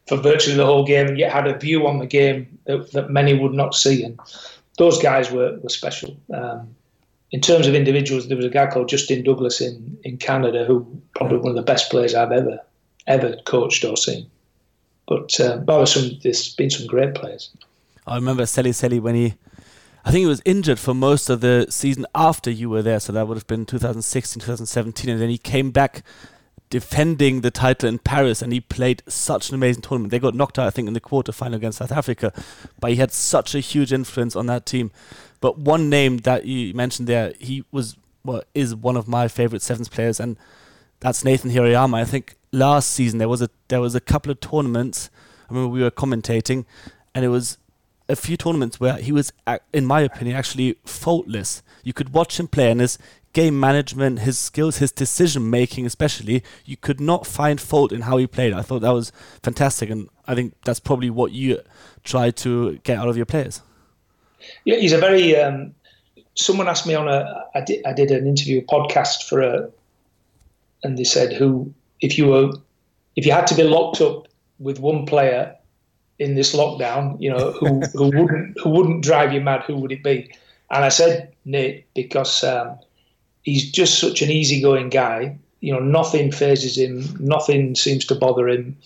for virtually the whole game, and yet had a view on the game that many would not see. And those guys were special. In terms of individuals, there was a guy called Justin Douglas in Canada, who probably one of the best players I've ever coached or seen. But there's been some great players. I remember Seli when I think he was injured for most of the season after you were there, so that would have been 2016, 2017, and then he came back defending the title in Paris, and he played such an amazing tournament. They got knocked out, I think, in the quarterfinal against South Africa, but he had such a huge influence on that team. But one name that you mentioned there, is one of my favorite sevens players, and that's Nathan Hirayama. I think last season there was a couple of tournaments. I remember we were commentating, and it was a few tournaments where he was, in my opinion, actually faultless. You could watch him play, and his game management, his skills, his decision making especially, you could not find fault in how he played. I thought that was fantastic, and I think that's probably what you try to get out of your players. Yeah, he's a very. Someone asked me I did an interview, a podcast and they said, if you had to be locked up with one player in this lockdown, who wouldn't drive you mad, who would it be? And I said Nate, because he's just such an easygoing guy. Nothing phases him, nothing seems to bother him.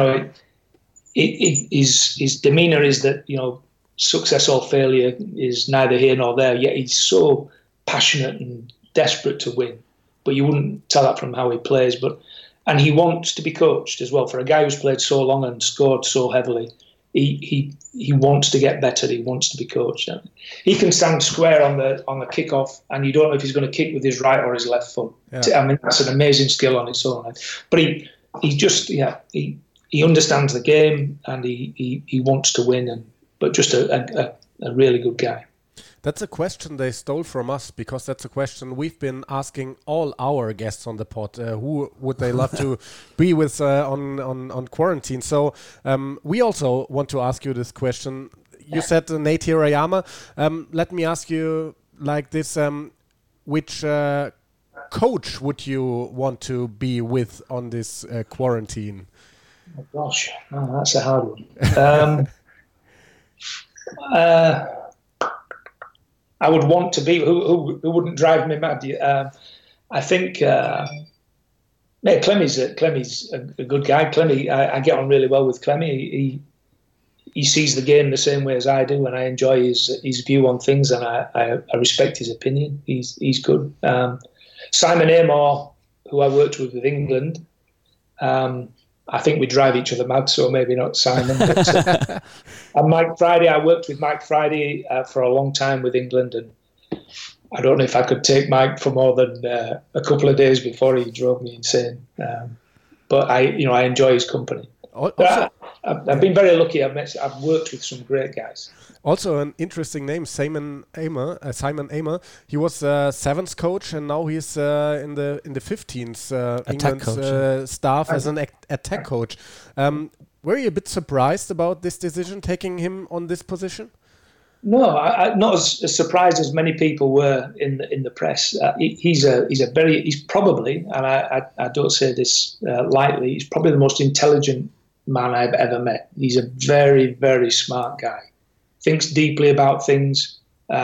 His demeanour is that success or failure is neither here nor there. Yet he's so passionate and desperate to win. But you wouldn't tell that from how he plays. And he wants to be coached as well. For a guy who's played so long and scored so heavily, he wants to get better. He wants to be coached. He can stand square on the kickoff, and you don't know if he's going to kick with his right or his left foot. Yeah. I mean, that's an amazing skill on its own. But he understands the game, and he wants to win. But just a really good guy. That's a question they stole from us, because that's a question we've been asking all our guests on the pod. Who would they love to be with on quarantine? So we also want to ask you this question. You said Nate Hirayama. Let me ask you like this: which coach would you want to be with on this quarantine? Oh gosh, that's a hard one. I would want to be who wouldn't drive me mad. I think Clemmy's a good guy. Clemmy, I get on really well with Clemmy. He sees the game the same way as I do, and I enjoy his view on things, and I respect his opinion. He's good. Simon Amor, who I worked with England. I think we drive each other mad, so maybe not Simon. But, and Mike Friday, I worked with Mike Friday for a long time with England, and I don't know if I could take Mike for more than a couple of days before he drove me insane. But I enjoy his company. Also, I've been very lucky. I've worked with some great guys. Also, an interesting name, Simon Amor. He was sevens coach, and now he's in the 15s England staff as an attack coach. Were you a bit surprised about this decision, taking him on this position? No, not as surprised as many people were in the press. He's probably, and I don't say this lightly, he's probably the most intelligent man I've ever met. He's a very, very smart guy. Thinks deeply about things.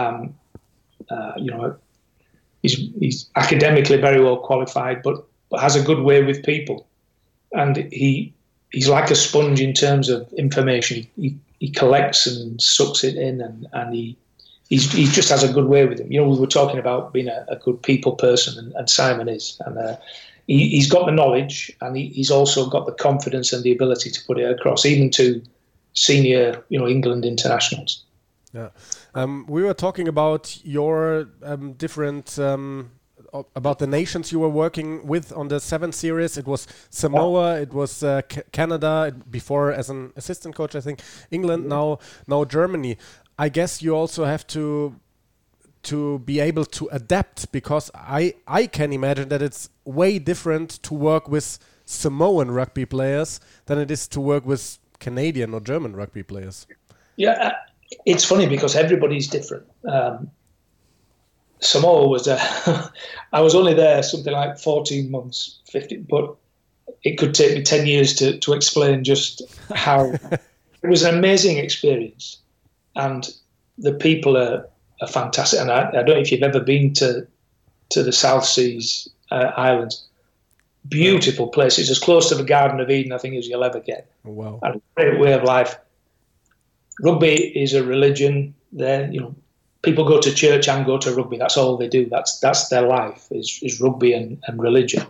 He's academically very well qualified, but has a good way with people. And he's like a sponge in terms of information. He collects and sucks it in, and he just has a good way with him. We were talking about being a good people person, and Simon is. And he's got the knowledge, and he's also got the confidence and the ability to put it across, even to senior, England internationals. Yeah, we were talking about your different about the nations you were working with on the 7 series. It was Samoa, it was Canada before as an assistant coach. I think England, now Germany. I guess you also have to be able to adapt, because I can imagine that it's way different to work with Samoan rugby players than it is to work with Canadian or German rugby players. Yeah, it's funny because everybody's different. Samoa was I was only there something like 14 months, 15, but it could take me 10 years to explain just how. It was an amazing experience, and the people are fantastic. And I don't know if you've ever been to the South Seas Islands. Beautiful places, as close to the Garden of Eden, I think, as you'll ever get. Wow. And a great way of life. Rugby is a religion there. People go to church and go to rugby. That's all they do. That's their life, is rugby and religion.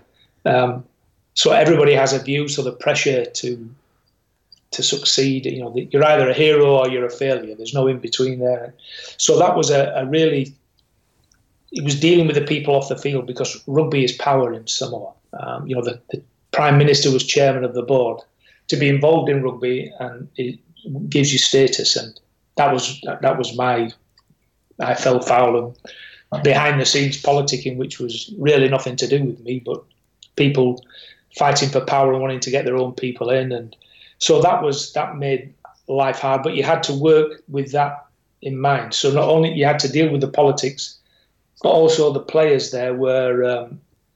So everybody has a view, so the pressure to succeed, you're either a hero or you're a failure. There's no in between there. So that was it was dealing with the people off the field, because rugby is power in Samoa. The Prime Minister was chairman of the board. To be involved in rugby, and it gives you status, and that was I fell foul of behind the scenes politicking, which was really nothing to do with me, but people fighting for power and wanting to get their own people in. And so that made life hard, but you had to work with that in mind. So not only you had to deal with the politics, but also the players there were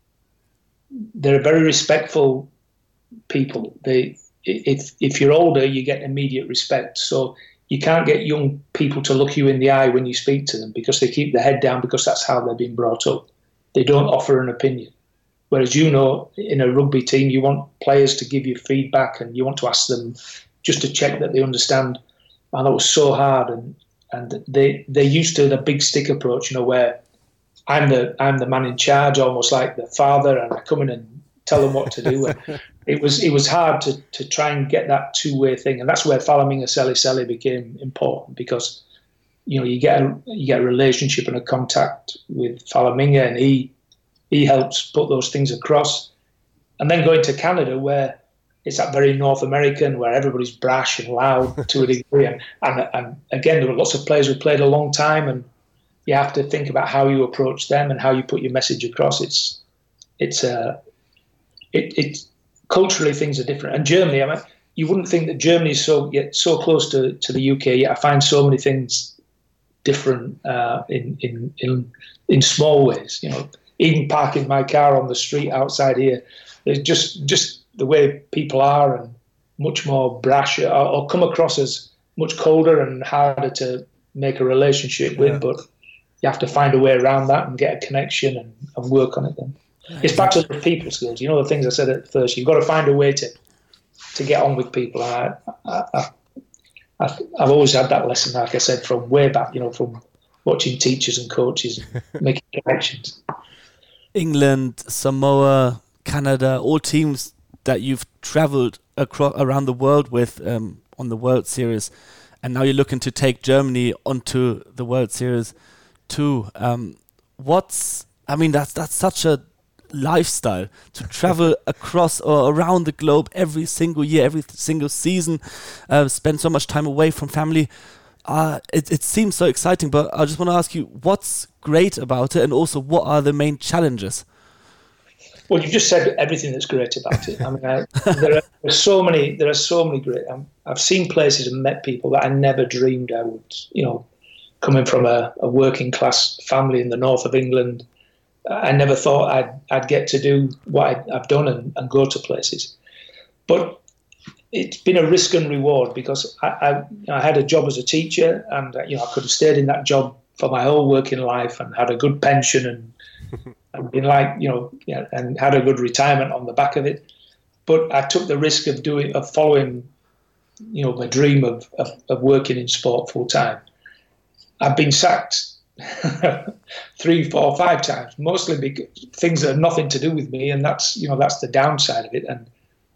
they're very respectful people. If you're older, you get immediate respect. So you can't get young people to look you in the eye when you speak to them, because they keep their head down, because that's how they've been brought up. They don't offer an opinion. Whereas, in a rugby team, you want players to give you feedback, and you want to ask them just to check that they understand. And that was so hard. And they're used to the big stick approach, where I'm the man in charge, almost like the father, and I come in and tell them what to do. And it was hard to try and get that two-way thing, and that's where Falaminga Sele became important, because you get a relationship and a contact with Falaminga, and he helps put those things across. And then going to Canada, where it's that very North American, where everybody's brash and loud to a degree, and again, there were lots of players who played a long time, and you have to think about how you approach them and how you put your message across. It's culturally, things are different. And Germany, you wouldn't think that Germany is so close to the UK. Yet I find so many things different in small ways. Even parking my car on the street outside here, it's just the way people are, and much more brash, or come across as much colder and harder to make a relationship with. But you have to find a way around that and get a connection and work on it then. It's back to the people skills. The things I said at first. You've got to find a way to get on with people. And I've always had that lesson, like I said, from way back, from watching teachers and coaches and making connections. England, Samoa, Canada, all teams that you've traveled around the world with on the World Series, and now you're looking to take Germany onto the World Series too. That's such a lifestyle to travel across or around the globe every single year, every single season, spend so much time away from family. It seems so exciting, but I just want to ask you, what's great about it, and also what are the main challenges? Well, you've just said everything that's great about it. There are so many great. I've seen places and met people that I never dreamed I would. Coming from a working class family in the north of England, I never thought I'd get to do what I've done and go to places. But it's been a risk and reward, because I had a job as a teacher, and I could have stayed in that job for my whole working life and had a good pension and been and had a good retirement on the back of it. But I took the risk of following my dream of working in sport full time. I've been sacked 3, 4, 5 times, mostly because things that have nothing to do with me, and that's the downside of it. And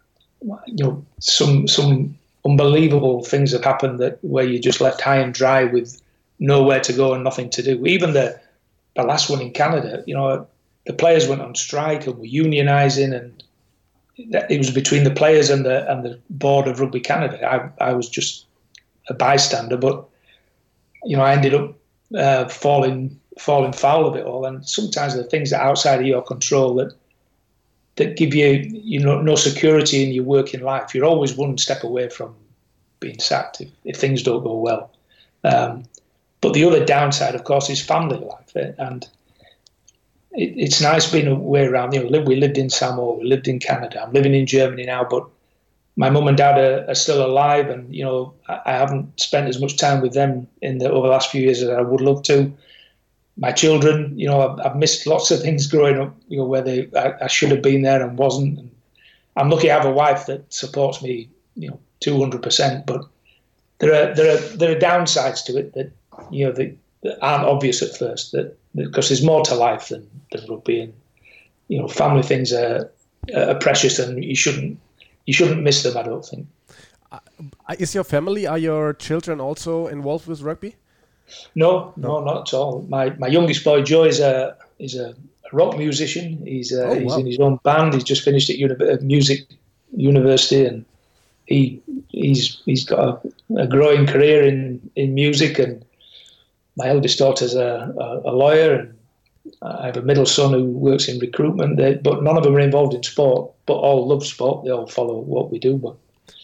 some unbelievable things have happened where you're just left high and dry with nowhere to go and nothing to do. Even the last one in Canada, the players went on strike and were unionising, and it was between the players and the board of Rugby Canada. I was just a bystander, but I ended up falling foul of it all. And sometimes the things that are outside of your control that give you no security in your working life. You're always one step away from being sacked if things don't go well. But the other downside, of course, is family life, and it's nice being away around. We lived in Samoa, we lived in Canada. I'm living in Germany now, but my mum and dad are still alive, and I haven't spent as much time with them over the last few years as I would love to. My children, I've missed lots of things growing up, where I should have been there and wasn't. And I'm lucky I have a wife that supports me, 200%. But there are downsides to it that that aren't obvious at first. Because there's more to life than rugby, and family things are precious, and you shouldn't miss them, I don't think. Is your family, are your children also involved with rugby? No, not at all. My youngest boy, Joe, is a rock musician. He's in his own band. He's just finished at music university, and he's got a growing career in music. And my eldest daughter's a lawyer, and I have a middle son who works in recruitment. But none of them are involved in sport, but all love sport. They all follow what we do. But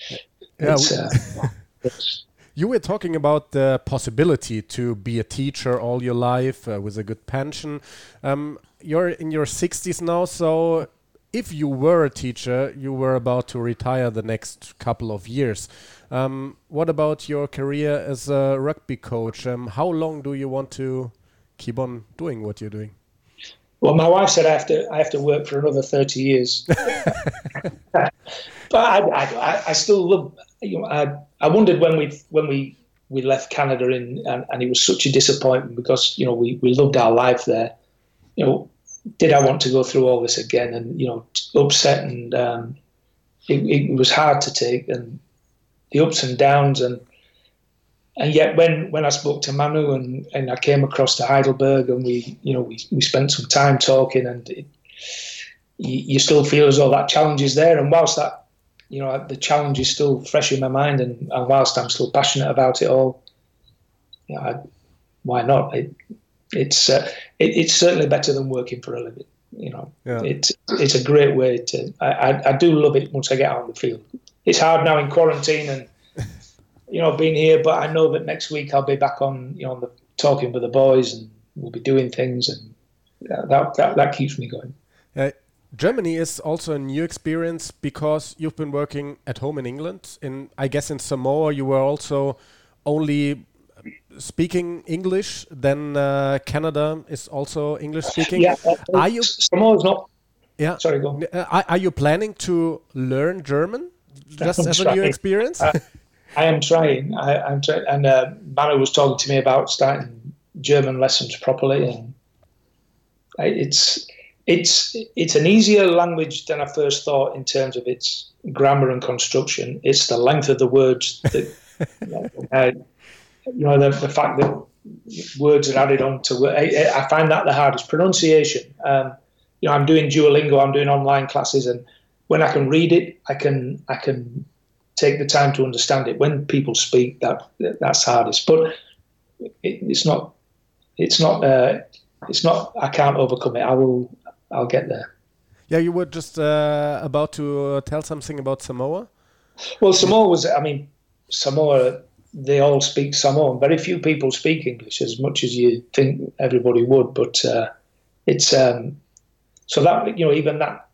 you were talking about the possibility to be a teacher all your life with a good pension. You're in your 60s now, so if you were a teacher, you were about to retire the next couple of years. What about your career as a rugby coach? How long do you want to keep on doing what you're doing? Well, my wife said I have to work for another 30 years. But I still love. I wondered when we left Canada and it was such a disappointment because we loved our life there. Did I want to go through all this again? And upset, and it was hard to take, and the ups and downs, and yet when I spoke to Manu and I came across to Heidelberg, and we spent some time talking, and you still feel as though that challenge is there, and whilst that the challenge is still fresh in my mind, and whilst I'm still passionate about it all, why not? It's certainly better than working for a living. It's a great way to. I do love it once I get out on the field. It's hard now in quarantine and being here, but I know that next week I'll be back on talking with the boys, and we'll be doing things, and that keeps me going. Germany is also a new experience because you've been working at home in England. I guess in Samoa you were also only speaking English. Then Canada is also English speaking. Yeah, Samoa's not. Yeah. Sorry, go on. Are you planning to learn German just as a new experience? I am trying. I'm trying. And Manu was talking to me about starting German lessons properly, and it's an easier language than I first thought in terms of its grammar and construction. It's the length of the words that, the fact that words are added on to. I find that the hardest. Pronunciation. I'm doing Duolingo. I'm doing online classes, and when I can read it, I can take the time to understand it. When people speak, that's hardest. But it's not. I can't overcome it. I'll get there. Yeah, you were just about to tell something about Samoa? Well, Samoa, they all speak Samoan. Very few people speak English as much as you think everybody would. But it's so that, even that,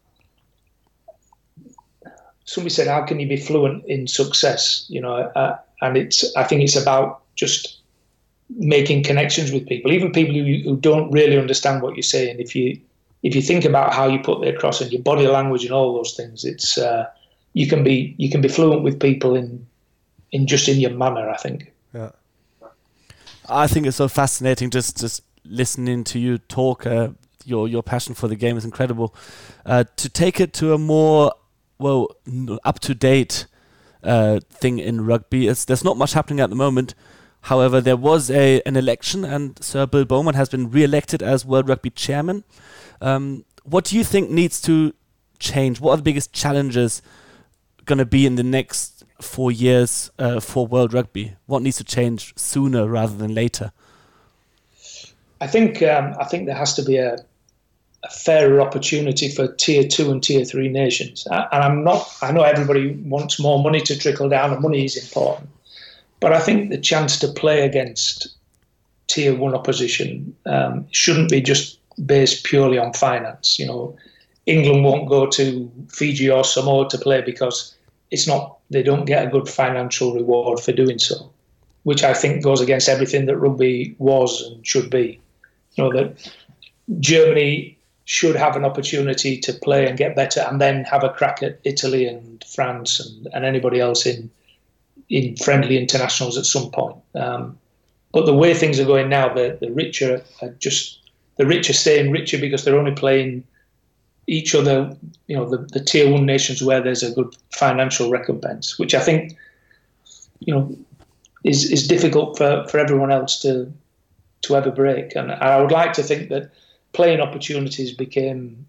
somebody said, how can you be fluent in success? And I think it's about just making connections with people, even people who don't really understand what you're saying. If you think about how you put it across and your body language and all those things, it's you can be fluent with people in your manner, I think. Yeah, I think it's so fascinating just listening to you talk. Your passion for the game is incredible. To take it to a more up to date thing in rugby, there's not much happening at the moment. However, there was an election, and Sir Bill Bowman has been re-elected as World Rugby Chairman. What do you think needs to change? What are the biggest challenges going to be in the next 4 years for World Rugby? What needs to change sooner rather than later? I think there has to be a fairer opportunity for Tier 2 and Tier 3 nations. And I know everybody wants more money to trickle down, and money is important. But I think the chance to play against Tier 1 opposition shouldn't be just based purely on finance. England won't go to Fiji or Samoa to play because they don't get a good financial reward for doing so, which I think goes against everything that rugby was and should be. That Germany should have an opportunity to play and get better and then have a crack at Italy and France and anybody else in friendly internationals at some point. But the way things are going now, the rich are staying richer because they're only playing each other, the tier 1 nations where there's a good financial recompense, which I think, is difficult for everyone else to ever break. And I would like to think that playing opportunities became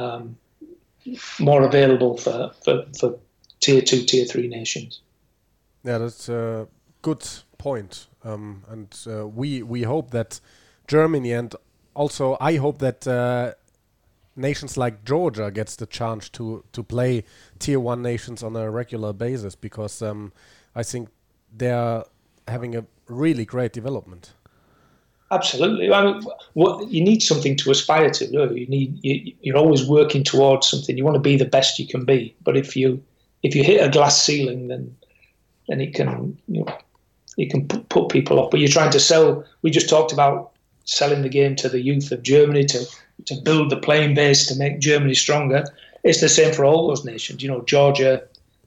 more available for tier 2, tier 3 nations. Yeah, that's a good point. And we hope that Germany, and also I hope that nations like Georgia gets the chance to play tier 1 nations on a regular basis, because I think they're having a really great development. Absolutely. You need something to aspire to. You're always working towards something. You want to be the best you can be. But if you hit a glass ceiling, then it can put people off. But you're trying to sell. We just talked about selling the game to the youth of Germany to build the playing base to make Germany stronger. It's the same for all those nations. Georgia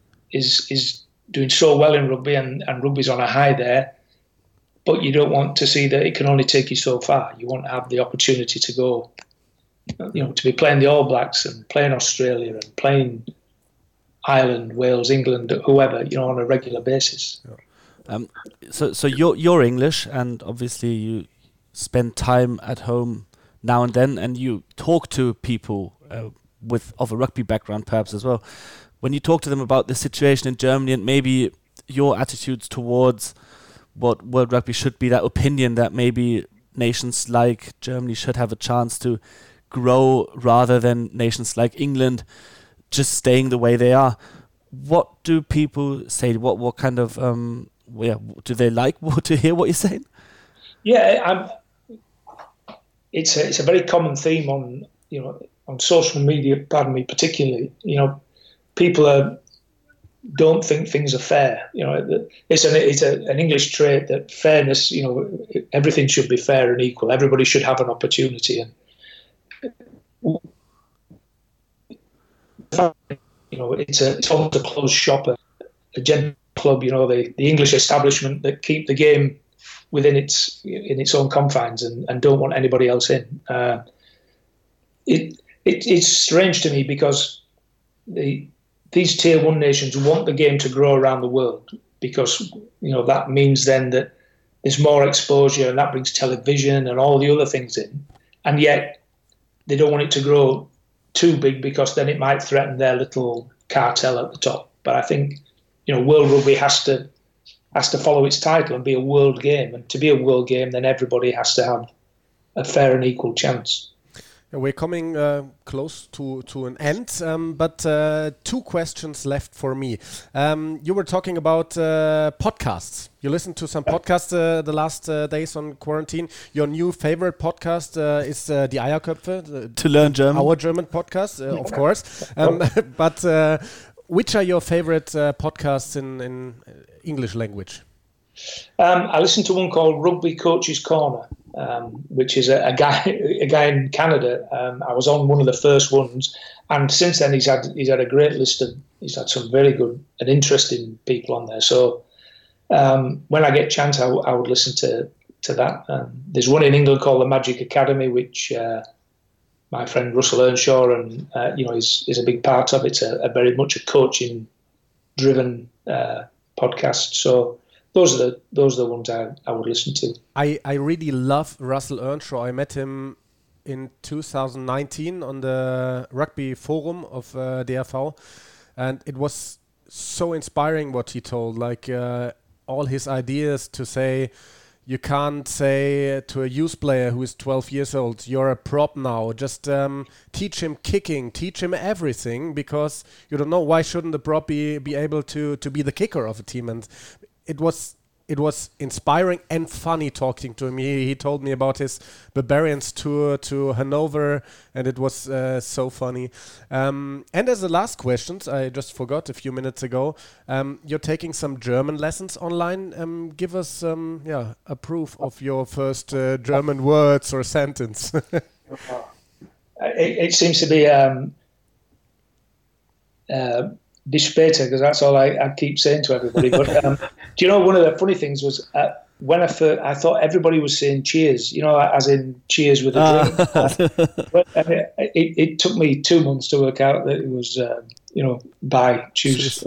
is doing so well in rugby, and rugby's on a high there. But you don't want to see that it can only take you so far. You want to have the opportunity to go, to be playing the All Blacks and playing Australia and playing Ireland, Wales, England, whoever, on a regular basis. Yeah. So you're English, and obviously you spend time at home now and then, and you talk to people of a rugby background perhaps as well. When you talk to them about the situation in Germany and maybe your attitudes towards what World Rugby should be, that opinion that maybe nations like Germany should have a chance to grow rather than nations like England just staying the way they are, what do people say? What kind of do they like to hear what you're saying? Yeah, it's a very common theme on social media. Pardon me, particularly. People don't think things are fair. It's an English trait that fairness. Everything should be fair and equal. Everybody should have an opportunity, and it's almost a closed shop, a gentle club. The English establishment that keep the game within its own confines and don't want anybody else in. It's strange to me because these tier 1 nations want the game to grow around the world, because that means then that there's more exposure, and that brings television and all the other things in, and yet they don't want it to grow too big because then it might threaten their little cartel at the top. But I think World Rugby has to follow its title and be a world game, and to be a world game, then everybody has to have a fair and equal chance. We're coming close to an end, but 2 questions left for me. You were talking about podcasts. You listened to some podcasts the last days on quarantine. Your new favorite podcast is Die Eierköpfe. To learn German. Our German podcast, of course. But which are your favorite podcasts in English language? I listened to one called Rugby Coach's Corner, which is a guy in Canada. I was on one of the first ones, and since then he's had a great list of. He's had some very good and interesting people on there. So when I get a chance, I would listen to that. There's one in England called the Magic Academy, which my friend Russell Earnshaw is a big part of. It's a very much a coaching driven podcast. So. Those are the ones I would listen to. I really love Russell Earnshaw. I met him in 2019 on the rugby forum of DRV, and it was so inspiring what he told. Like all his ideas to say, you can't say to a youth player who is 12 years old, you're a prop now. Just teach him kicking, teach him everything, because you don't know, why shouldn't the prop be able to be the kicker of a team? And it was it was inspiring and funny talking to him. He told me about his Barbarians tour to Hanover, and it was so funny. And as the last questions, I just forgot a few minutes ago, you're taking some German lessons online. Give us a proof of your first German words or sentence. It seems to be Bis später, because that's all I keep saying to everybody. But do you know, one of the funny things was when I thought everybody was saying cheers, you know, as in cheers with a drink. But it took me 2 months to work out that it was, bye, choose.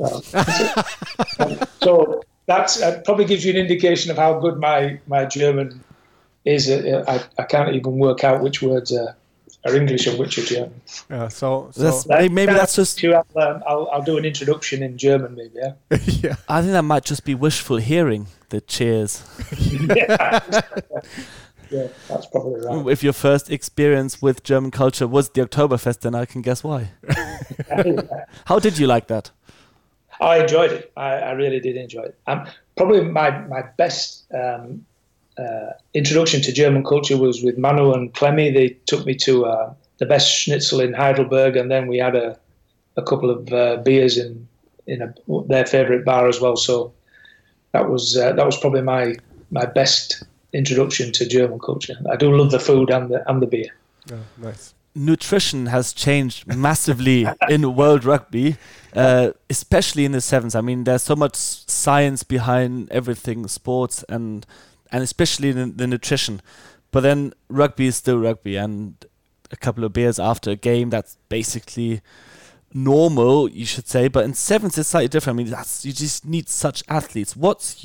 So that probably gives you an indication of how good my German is. I can't even work out which words are English and which are German. Yeah, so maybe that's just. I'll do an introduction in German, maybe. Yeah. Yeah. I think that might just be wishful hearing. The cheers. Yeah, that's probably right. If your first experience with German culture was the Oktoberfest, then I can guess why. How did you like that? I enjoyed it. I really did enjoy it. Probably my best introduction to German culture was with Manu and Clemmy. They took me to the best schnitzel in Heidelberg, and then we had a couple of beers in their favourite bar as well. So that was probably my best introduction to German culture. I do love the food and the beer. Oh, nice. Nutrition has changed massively in world rugby, especially in the sevens. I mean, there's so much science behind everything, sports and especially the nutrition. But then rugby is still rugby, and a couple of beers after a game, that's basically normal, you should say. But in sevens, it's slightly different. I mean, you just need such athletes.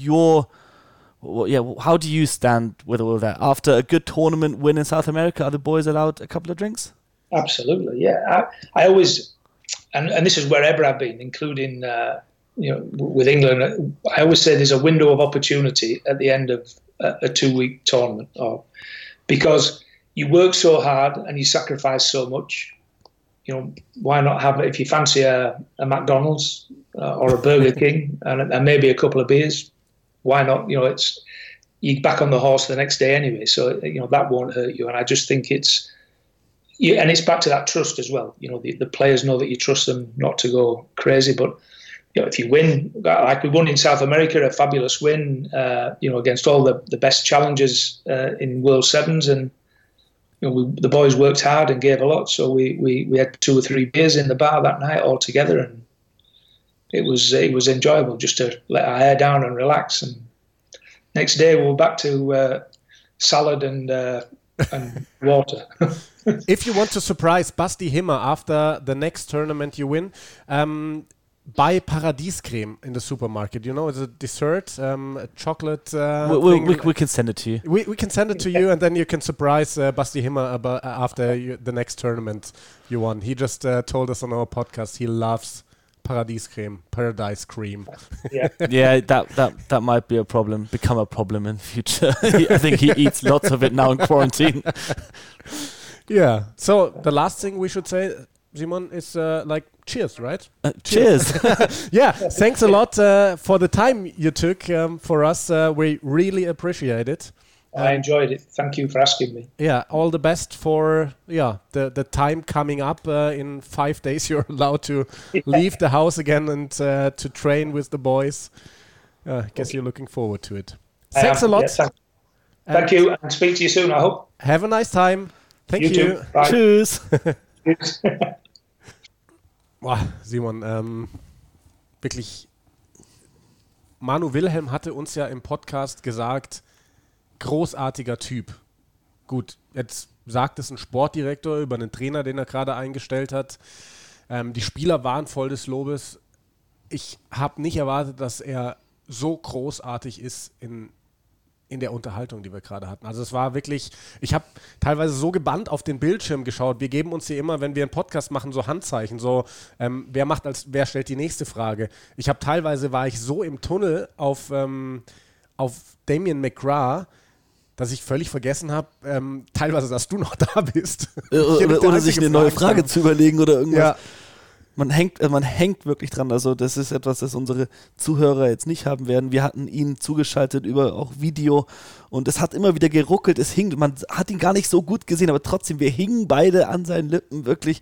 How do you stand with all of that? After a good tournament win in South America, are the boys allowed a couple of drinks? Absolutely, yeah. I always, and this is wherever I've been, including with England, I always say there's a window of opportunity at the end of a 2-week tournament, because you work so hard and you sacrifice so much. You know, why not have it? If you fancy a McDonald's or a Burger King and maybe a couple of beers, why not? You know, you're back on the horse the next day anyway, so that won't hurt you. And I just think it's back to that trust as well. You know, the players know that you trust them not to go crazy, but if you win, like we won in South America, a fabulous win, against all the best challengers in World Sevens, and the boys worked hard and gave a lot. So we had 2 or 3 beers in the bar that night all together, and it was enjoyable just to let our hair down and relax. And next day we were back to salad and water. If you want to surprise Basti Himmer after the next tournament you win, buy Paradiescreme in the supermarket. You know, it's a dessert, a chocolate we can send it to you. We can send it to you, and then you can surprise Basti Himmer after the next tournament you won. He just told us on our podcast he loves Paradise cream. Yeah, yeah, that might be become a problem in future. I think he eats lots of it now in quarantine. Yeah. So the last thing we should say, Simon, is cheers, right? Cheers. Yeah. Thanks a lot for the time you took for us. We really appreciate it. I enjoyed it. Thank you for asking me. Yeah, all the best for the time coming up. In 5 days, you're allowed to leave the house again and to train with the boys. I guess you're looking forward to it. Thanks a lot. Yes, thank you, and speak to you soon, I hope. Have a nice time. Thank you. Too. Bye. Tschüss. Boah, Simon, wirklich, Manu Wilhelm hatte uns ja im Podcast gesagt, großartiger Typ. Gut, jetzt sagt es ein Sportdirektor über einen Trainer, den er gerade eingestellt hat. Die Spieler waren voll des Lobes. Ich habe nicht erwartet, dass er so großartig ist in der Unterhaltung, die wir gerade hatten. Also es war wirklich, ich habe teilweise so gebannt auf den Bildschirm geschaut. Wir geben uns hier immer, wenn wir einen Podcast machen, so Handzeichen, so wer stellt die nächste Frage. Teilweise war ich so im Tunnel auf Damien McGrath, dass ich völlig vergessen habe, teilweise, dass du noch da bist. Oder sich eine neue Frage zu überlegen oder irgendwas. man hängt wirklich dran. Also das ist etwas, das unsere Zuhörer jetzt nicht haben werden. Wir hatten ihn zugeschaltet über auch Video und es hat immer wieder geruckelt, es hing, man hat ihn gar nicht so gut gesehen, aber trotzdem, wir hingen beide an seinen Lippen. Wirklich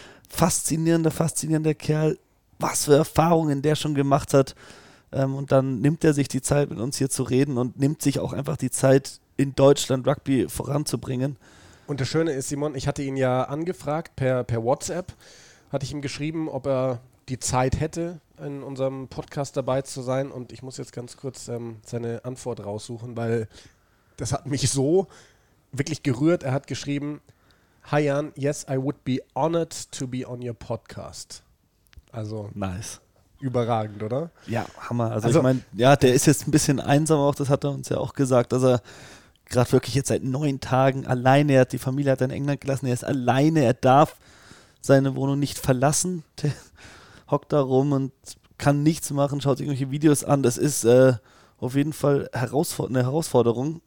faszinierender Kerl. Was für Erfahrungen der schon gemacht hat. Und dann nimmt er sich die Zeit, mit uns hier zu reden und nimmt sich auch einfach die Zeit, in Deutschland Rugby voranzubringen. Und das Schöne ist, Simon, ich hatte ihn ja angefragt per WhatsApp, hatte ich ihm geschrieben, ob er die Zeit hätte, in unserem Podcast dabei zu sein. Und ich muss jetzt ganz kurz seine Antwort raussuchen, weil das hat mich so wirklich gerührt. Er hat geschrieben, "Hi Jan, yes, I would be honored to be on your podcast." Also nice. Überragend, oder? Ja, Hammer. Also ich meine, ja, der ist jetzt ein bisschen einsam auch, das hat er uns ja auch gesagt, dass er gerade wirklich jetzt seit 9 Tagen alleine, er hat die Familie hat er in England gelassen, er ist alleine, er darf seine Wohnung nicht verlassen, der hockt da rum und kann nichts machen, schaut sich irgendwelche Videos an, das ist auf jeden Fall eine Herausforderung,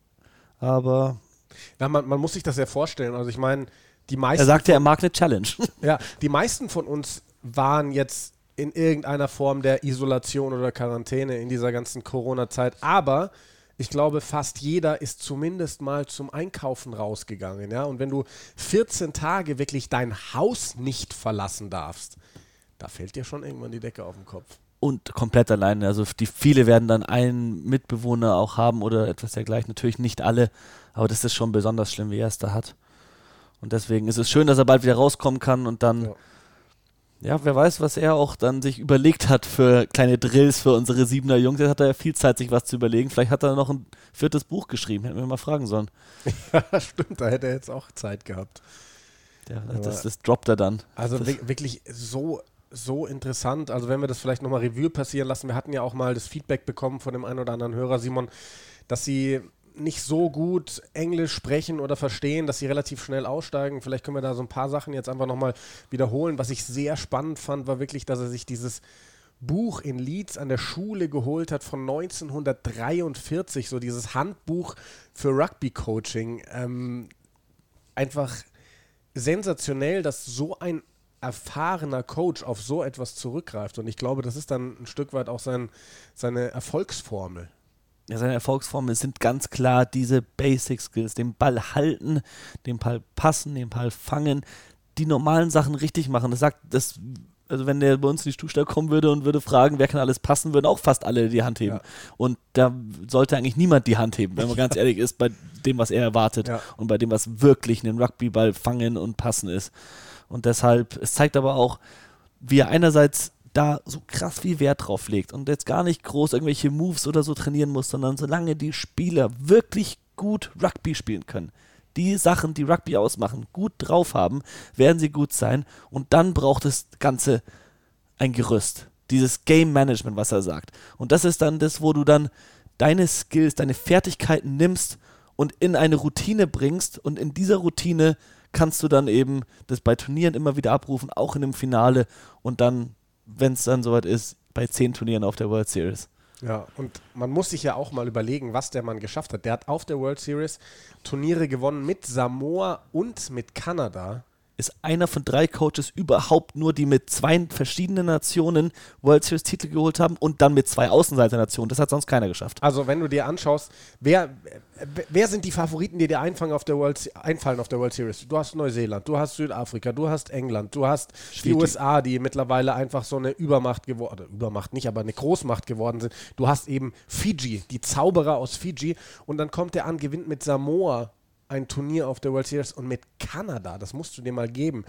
aber... Ja, man muss sich das ja vorstellen, also ich meine, die meisten... Er sagte, er mag eine Challenge. Ja, die meisten von uns waren jetzt in irgendeiner Form der Isolation oder Quarantäne in dieser ganzen Corona-Zeit, aber ich glaube, fast jeder ist zumindest mal zum Einkaufen rausgegangen, ja, und wenn du 14 Tage wirklich dein Haus nicht verlassen darfst, da fällt dir schon irgendwann die Decke auf den Kopf. Und komplett alleine, also viele werden dann einen Mitbewohner auch haben oder etwas dergleichen, natürlich nicht alle, aber das ist schon besonders schlimm, wie er es da hat. Und deswegen ist es schön, dass er bald wieder rauskommen kann und dann... Ja, wer weiß, was er auch dann sich überlegt hat für kleine Drills für unsere 7er Jungs. Jetzt hat er ja viel Zeit, sich was zu überlegen. Vielleicht hat er noch ein 4. Buch geschrieben. Hätten wir mal fragen sollen. Ja, stimmt. Da hätte er jetzt auch Zeit gehabt. Ja, das droppt er dann. Also wirklich so interessant. Also wenn wir das vielleicht nochmal Revue passieren lassen. Wir hatten ja auch mal das Feedback bekommen von dem einen oder anderen Hörer, Simon, dass sie nicht so gut Englisch sprechen oder verstehen, dass sie relativ schnell aussteigen. Vielleicht können wir da so ein paar Sachen jetzt einfach nochmal wiederholen. Was ich sehr spannend fand, war wirklich, dass er sich dieses Buch in Leeds an der Schule geholt hat von 1943, so dieses Handbuch für Rugby-Coaching. Einfach sensationell, dass so ein erfahrener Coach auf so etwas zurückgreift. Und ich glaube, das ist dann ein Stück weit auch seine Erfolgsformel. Ja, seine Erfolgsformel sind ganz klar diese Basic Skills, den Ball halten, den Ball passen, den Ball fangen, die normalen Sachen richtig machen. Das sagt, also wenn der bei uns in die Stuhlstelle kommen würde und würde fragen, wer kann alles passen, würden auch fast alle die Hand heben. Ja. Und da sollte eigentlich niemand die Hand heben, wenn man ganz ehrlich ist, bei dem, was er erwartet und bei dem, was wirklich einen Rugbyball fangen und passen ist. Und deshalb, es zeigt aber auch, wie er einerseits da so krass viel Wert drauf legt und jetzt gar nicht groß irgendwelche Moves oder so trainieren muss, sondern solange die Spieler wirklich gut Rugby spielen können, die Sachen, die Rugby ausmachen, gut drauf haben, werden sie gut sein und dann braucht das Ganze ein Gerüst. Dieses Game Management, was er sagt. Und das ist dann das, wo du dann deine Skills, deine Fertigkeiten nimmst und in eine Routine bringst und in dieser Routine kannst du dann eben das bei Turnieren immer wieder abrufen, auch in einem Finale und dann, wenn es dann soweit ist, bei 10 Turnieren auf der World Series. Ja, und man muss sich ja auch mal überlegen, was der Mann geschafft hat. Der hat auf der World Series Turniere gewonnen mit Samoa und mit Kanada. Ist einer von 3 Coaches überhaupt nur, die mit 2 verschiedenen Nationen World Series Titel geholt haben und dann mit 2 Außenseiternationen. Das hat sonst keiner geschafft. Also wenn du dir anschaust, wer sind die Favoriten, die dir einfallen auf der World Series? Du hast Neuseeland, du hast Südafrika, du hast England, du hast die USA, die mittlerweile einfach so eine Übermacht geworden, Übermacht nicht, aber eine Großmacht geworden sind. Du hast eben Fiji, die Zauberer aus Fiji und dann kommt der an, gewinnt mit Samoa ein Turnier auf der World Series und mit Kanada, das musst du dir mal geben.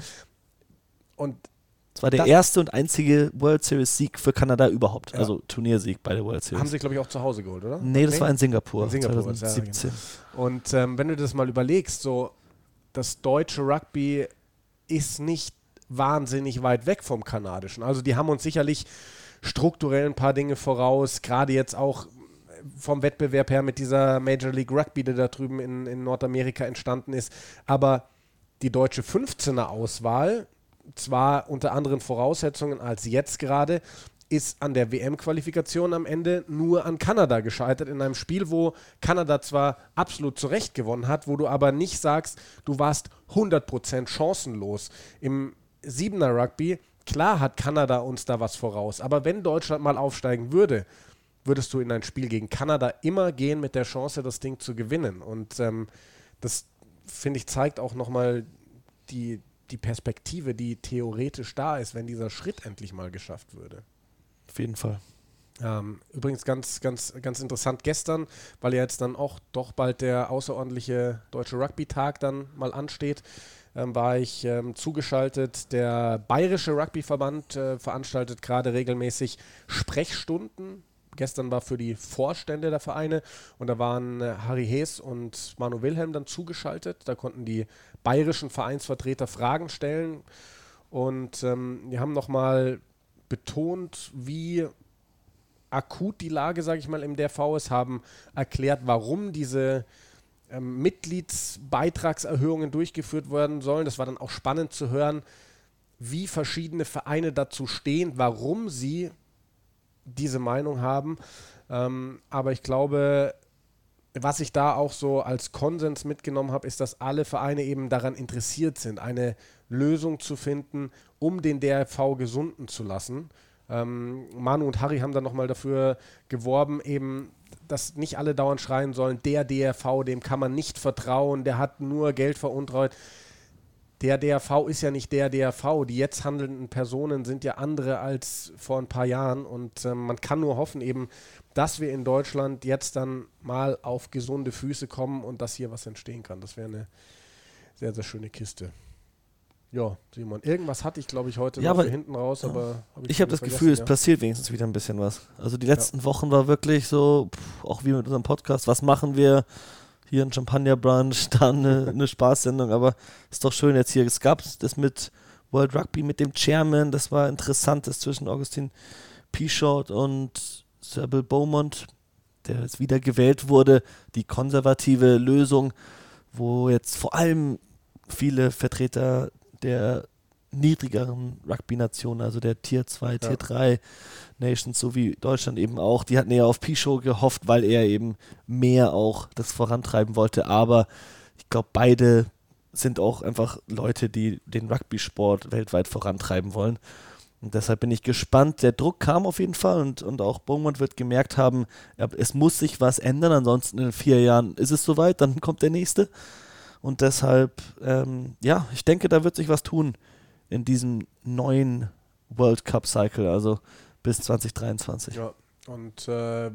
Und das war der erste und einzige World Series Sieg für Kanada überhaupt, also Turniersieg bei der World Series. Haben sie, glaube ich, auch zu Hause geholt, oder? Nee, das war in Singapur. In Singapur 2017. Ja, genau. Und wenn du das mal überlegst, so das deutsche Rugby ist nicht wahnsinnig weit weg vom kanadischen. Also die haben uns sicherlich strukturell ein paar Dinge voraus, gerade jetzt auch vom Wettbewerb her mit dieser Major League Rugby, die da drüben in Nordamerika entstanden ist. Aber die deutsche 15er-Auswahl, zwar unter anderen Voraussetzungen als jetzt gerade, ist an der WM-Qualifikation am Ende nur an Kanada gescheitert, in einem Spiel, wo Kanada zwar absolut zu Recht gewonnen hat, wo du aber nicht sagst, du warst 100% chancenlos. Im 7er Rugby klar hat Kanada uns da was voraus, aber wenn Deutschland mal aufsteigen würde, würdest du in ein Spiel gegen Kanada immer gehen mit der Chance, das Ding zu gewinnen. Und das, finde ich, zeigt auch nochmal die Perspektive, die theoretisch da ist, wenn dieser Schritt endlich mal geschafft würde. Auf jeden Fall. Übrigens ganz, ganz, ganz interessant gestern, weil ja jetzt dann auch doch bald der außerordentliche Deutsche Rugby-Tag dann mal ansteht, war ich zugeschaltet. Der Bayerische Rugbyverband veranstaltet gerade regelmäßig Sprechstunden. Gestern war für die Vorstände der Vereine und da waren Harry Hees und Manu Wilhelm dann zugeschaltet. Da konnten die bayerischen Vereinsvertreter Fragen stellen und die haben nochmal betont, wie akut die Lage, sage ich mal, im DRV ist, haben erklärt, warum diese Mitgliedsbeitragserhöhungen durchgeführt werden sollen. Das war dann auch spannend zu hören, wie verschiedene Vereine dazu stehen, warum sie diese Meinung haben. Aber ich glaube, was ich da auch so als Konsens mitgenommen habe, ist, dass alle Vereine eben daran interessiert sind, eine Lösung zu finden, um den DRV gesunden zu lassen. Manu und Harry haben dann nochmal dafür geworben, eben, dass nicht alle dauernd schreien sollen, der DRV, dem kann man nicht vertrauen, der hat nur Geld veruntreut. Der DRV ist ja nicht der DRV. Die jetzt handelnden Personen sind ja andere als vor ein paar Jahren und man kann nur hoffen eben, dass wir in Deutschland jetzt dann mal auf gesunde Füße kommen und dass hier was entstehen kann. Das wäre eine sehr, sehr schöne Kiste. Ja, Simon, irgendwas hatte ich, glaube ich, heute noch für hinten raus, aber ich habe das Gefühl, es passiert wenigstens wieder ein bisschen was. Also die letzten Wochen war wirklich so, auch wie mit unserem Podcast, was machen wir? Hier ein Champagner-Brunch, dann eine Spaßsendung, aber ist doch schön jetzt hier. Es gab das mit World Rugby, mit dem Chairman, das war interessant, das zwischen Augustin Pichot und Sir Bill Beaumont, der jetzt wieder gewählt wurde, die konservative Lösung, wo jetzt vor allem viele Vertreter der niedrigeren Rugby-Nationen, also der Tier 2, Tier 3 Nations, so wie Deutschland eben auch, die hatten eher auf Pichot gehofft, weil er eben mehr auch das vorantreiben wollte, aber ich glaube, beide sind auch einfach Leute, die den Rugby-Sport weltweit vorantreiben wollen und deshalb bin ich gespannt. Der Druck kam auf jeden Fall und auch Beaumont wird gemerkt haben, es muss sich was ändern, ansonsten in 4 Jahren ist es soweit, dann kommt der nächste und deshalb, ich denke, da wird sich was tun in diesem neuen World Cup Cycle, also bis 2023. Ja, und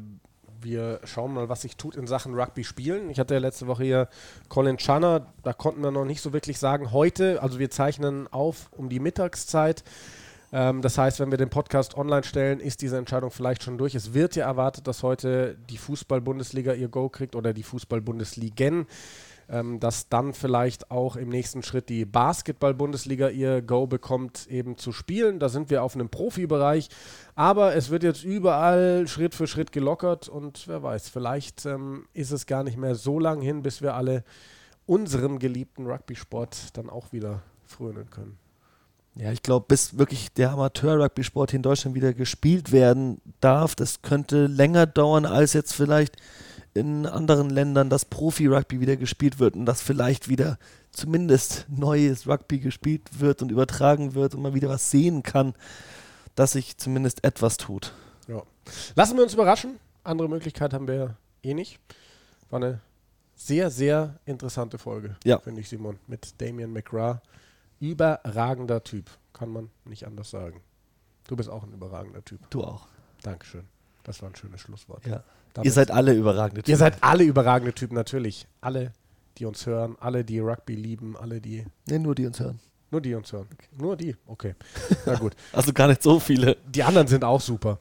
wir schauen mal, was sich tut in Sachen Rugby spielen. Ich hatte ja letzte Woche hier Colin Channer, da konnten wir noch nicht so wirklich sagen, heute, also wir zeichnen auf um die Mittagszeit. Das heißt, wenn wir den Podcast online stellen, ist diese Entscheidung vielleicht schon durch. Es wird ja erwartet, dass heute die Fußball-Bundesliga ihr Go kriegt oder die Fußball-Bundesligen. Dass dann vielleicht auch im nächsten Schritt die Basketball-Bundesliga ihr Go bekommt, eben zu spielen. Da sind wir auf einem Profibereich, aber es wird jetzt überall Schritt für Schritt gelockert und wer weiß, vielleicht ist es gar nicht mehr so lang hin, bis wir alle unserem geliebten Rugby-Sport dann auch wieder frönen können. Ja, ich glaube, bis wirklich der Amateur-Rugby-Sport hier in Deutschland wieder gespielt werden darf, das könnte länger dauern, als jetzt vielleicht in anderen Ländern das Profi-Rugby wieder gespielt wird und dass vielleicht wieder zumindest neues Rugby gespielt wird und übertragen wird und man wieder was sehen kann, dass sich zumindest etwas tut. Ja. Lassen wir uns überraschen. Andere Möglichkeit haben wir eh nicht. War eine sehr, sehr interessante Folge, finde ich, Simon, mit Damien McGrath. Überragender Typ, kann man nicht anders sagen. Du bist auch ein überragender Typ. Du auch. Dankeschön. Das war ein schönes Schlusswort. Ja. Ihr seid alle überragende Typen. Ihr seid alle überragende Typen, natürlich. Alle, die uns hören, alle, die Rugby lieben, alle, die... Nee, nur die uns hören. Nur die uns hören. Okay. Nur die? Okay. Na gut. Also gar nicht so viele. Die anderen sind auch super.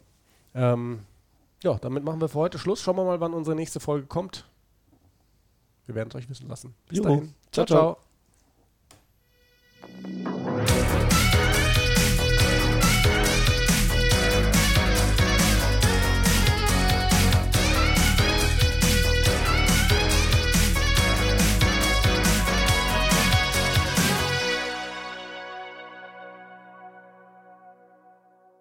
Damit machen wir für heute Schluss. Schauen wir mal, wann unsere nächste Folge kommt. Wir werden es euch wissen lassen. Bis dahin. Ciao, ciao.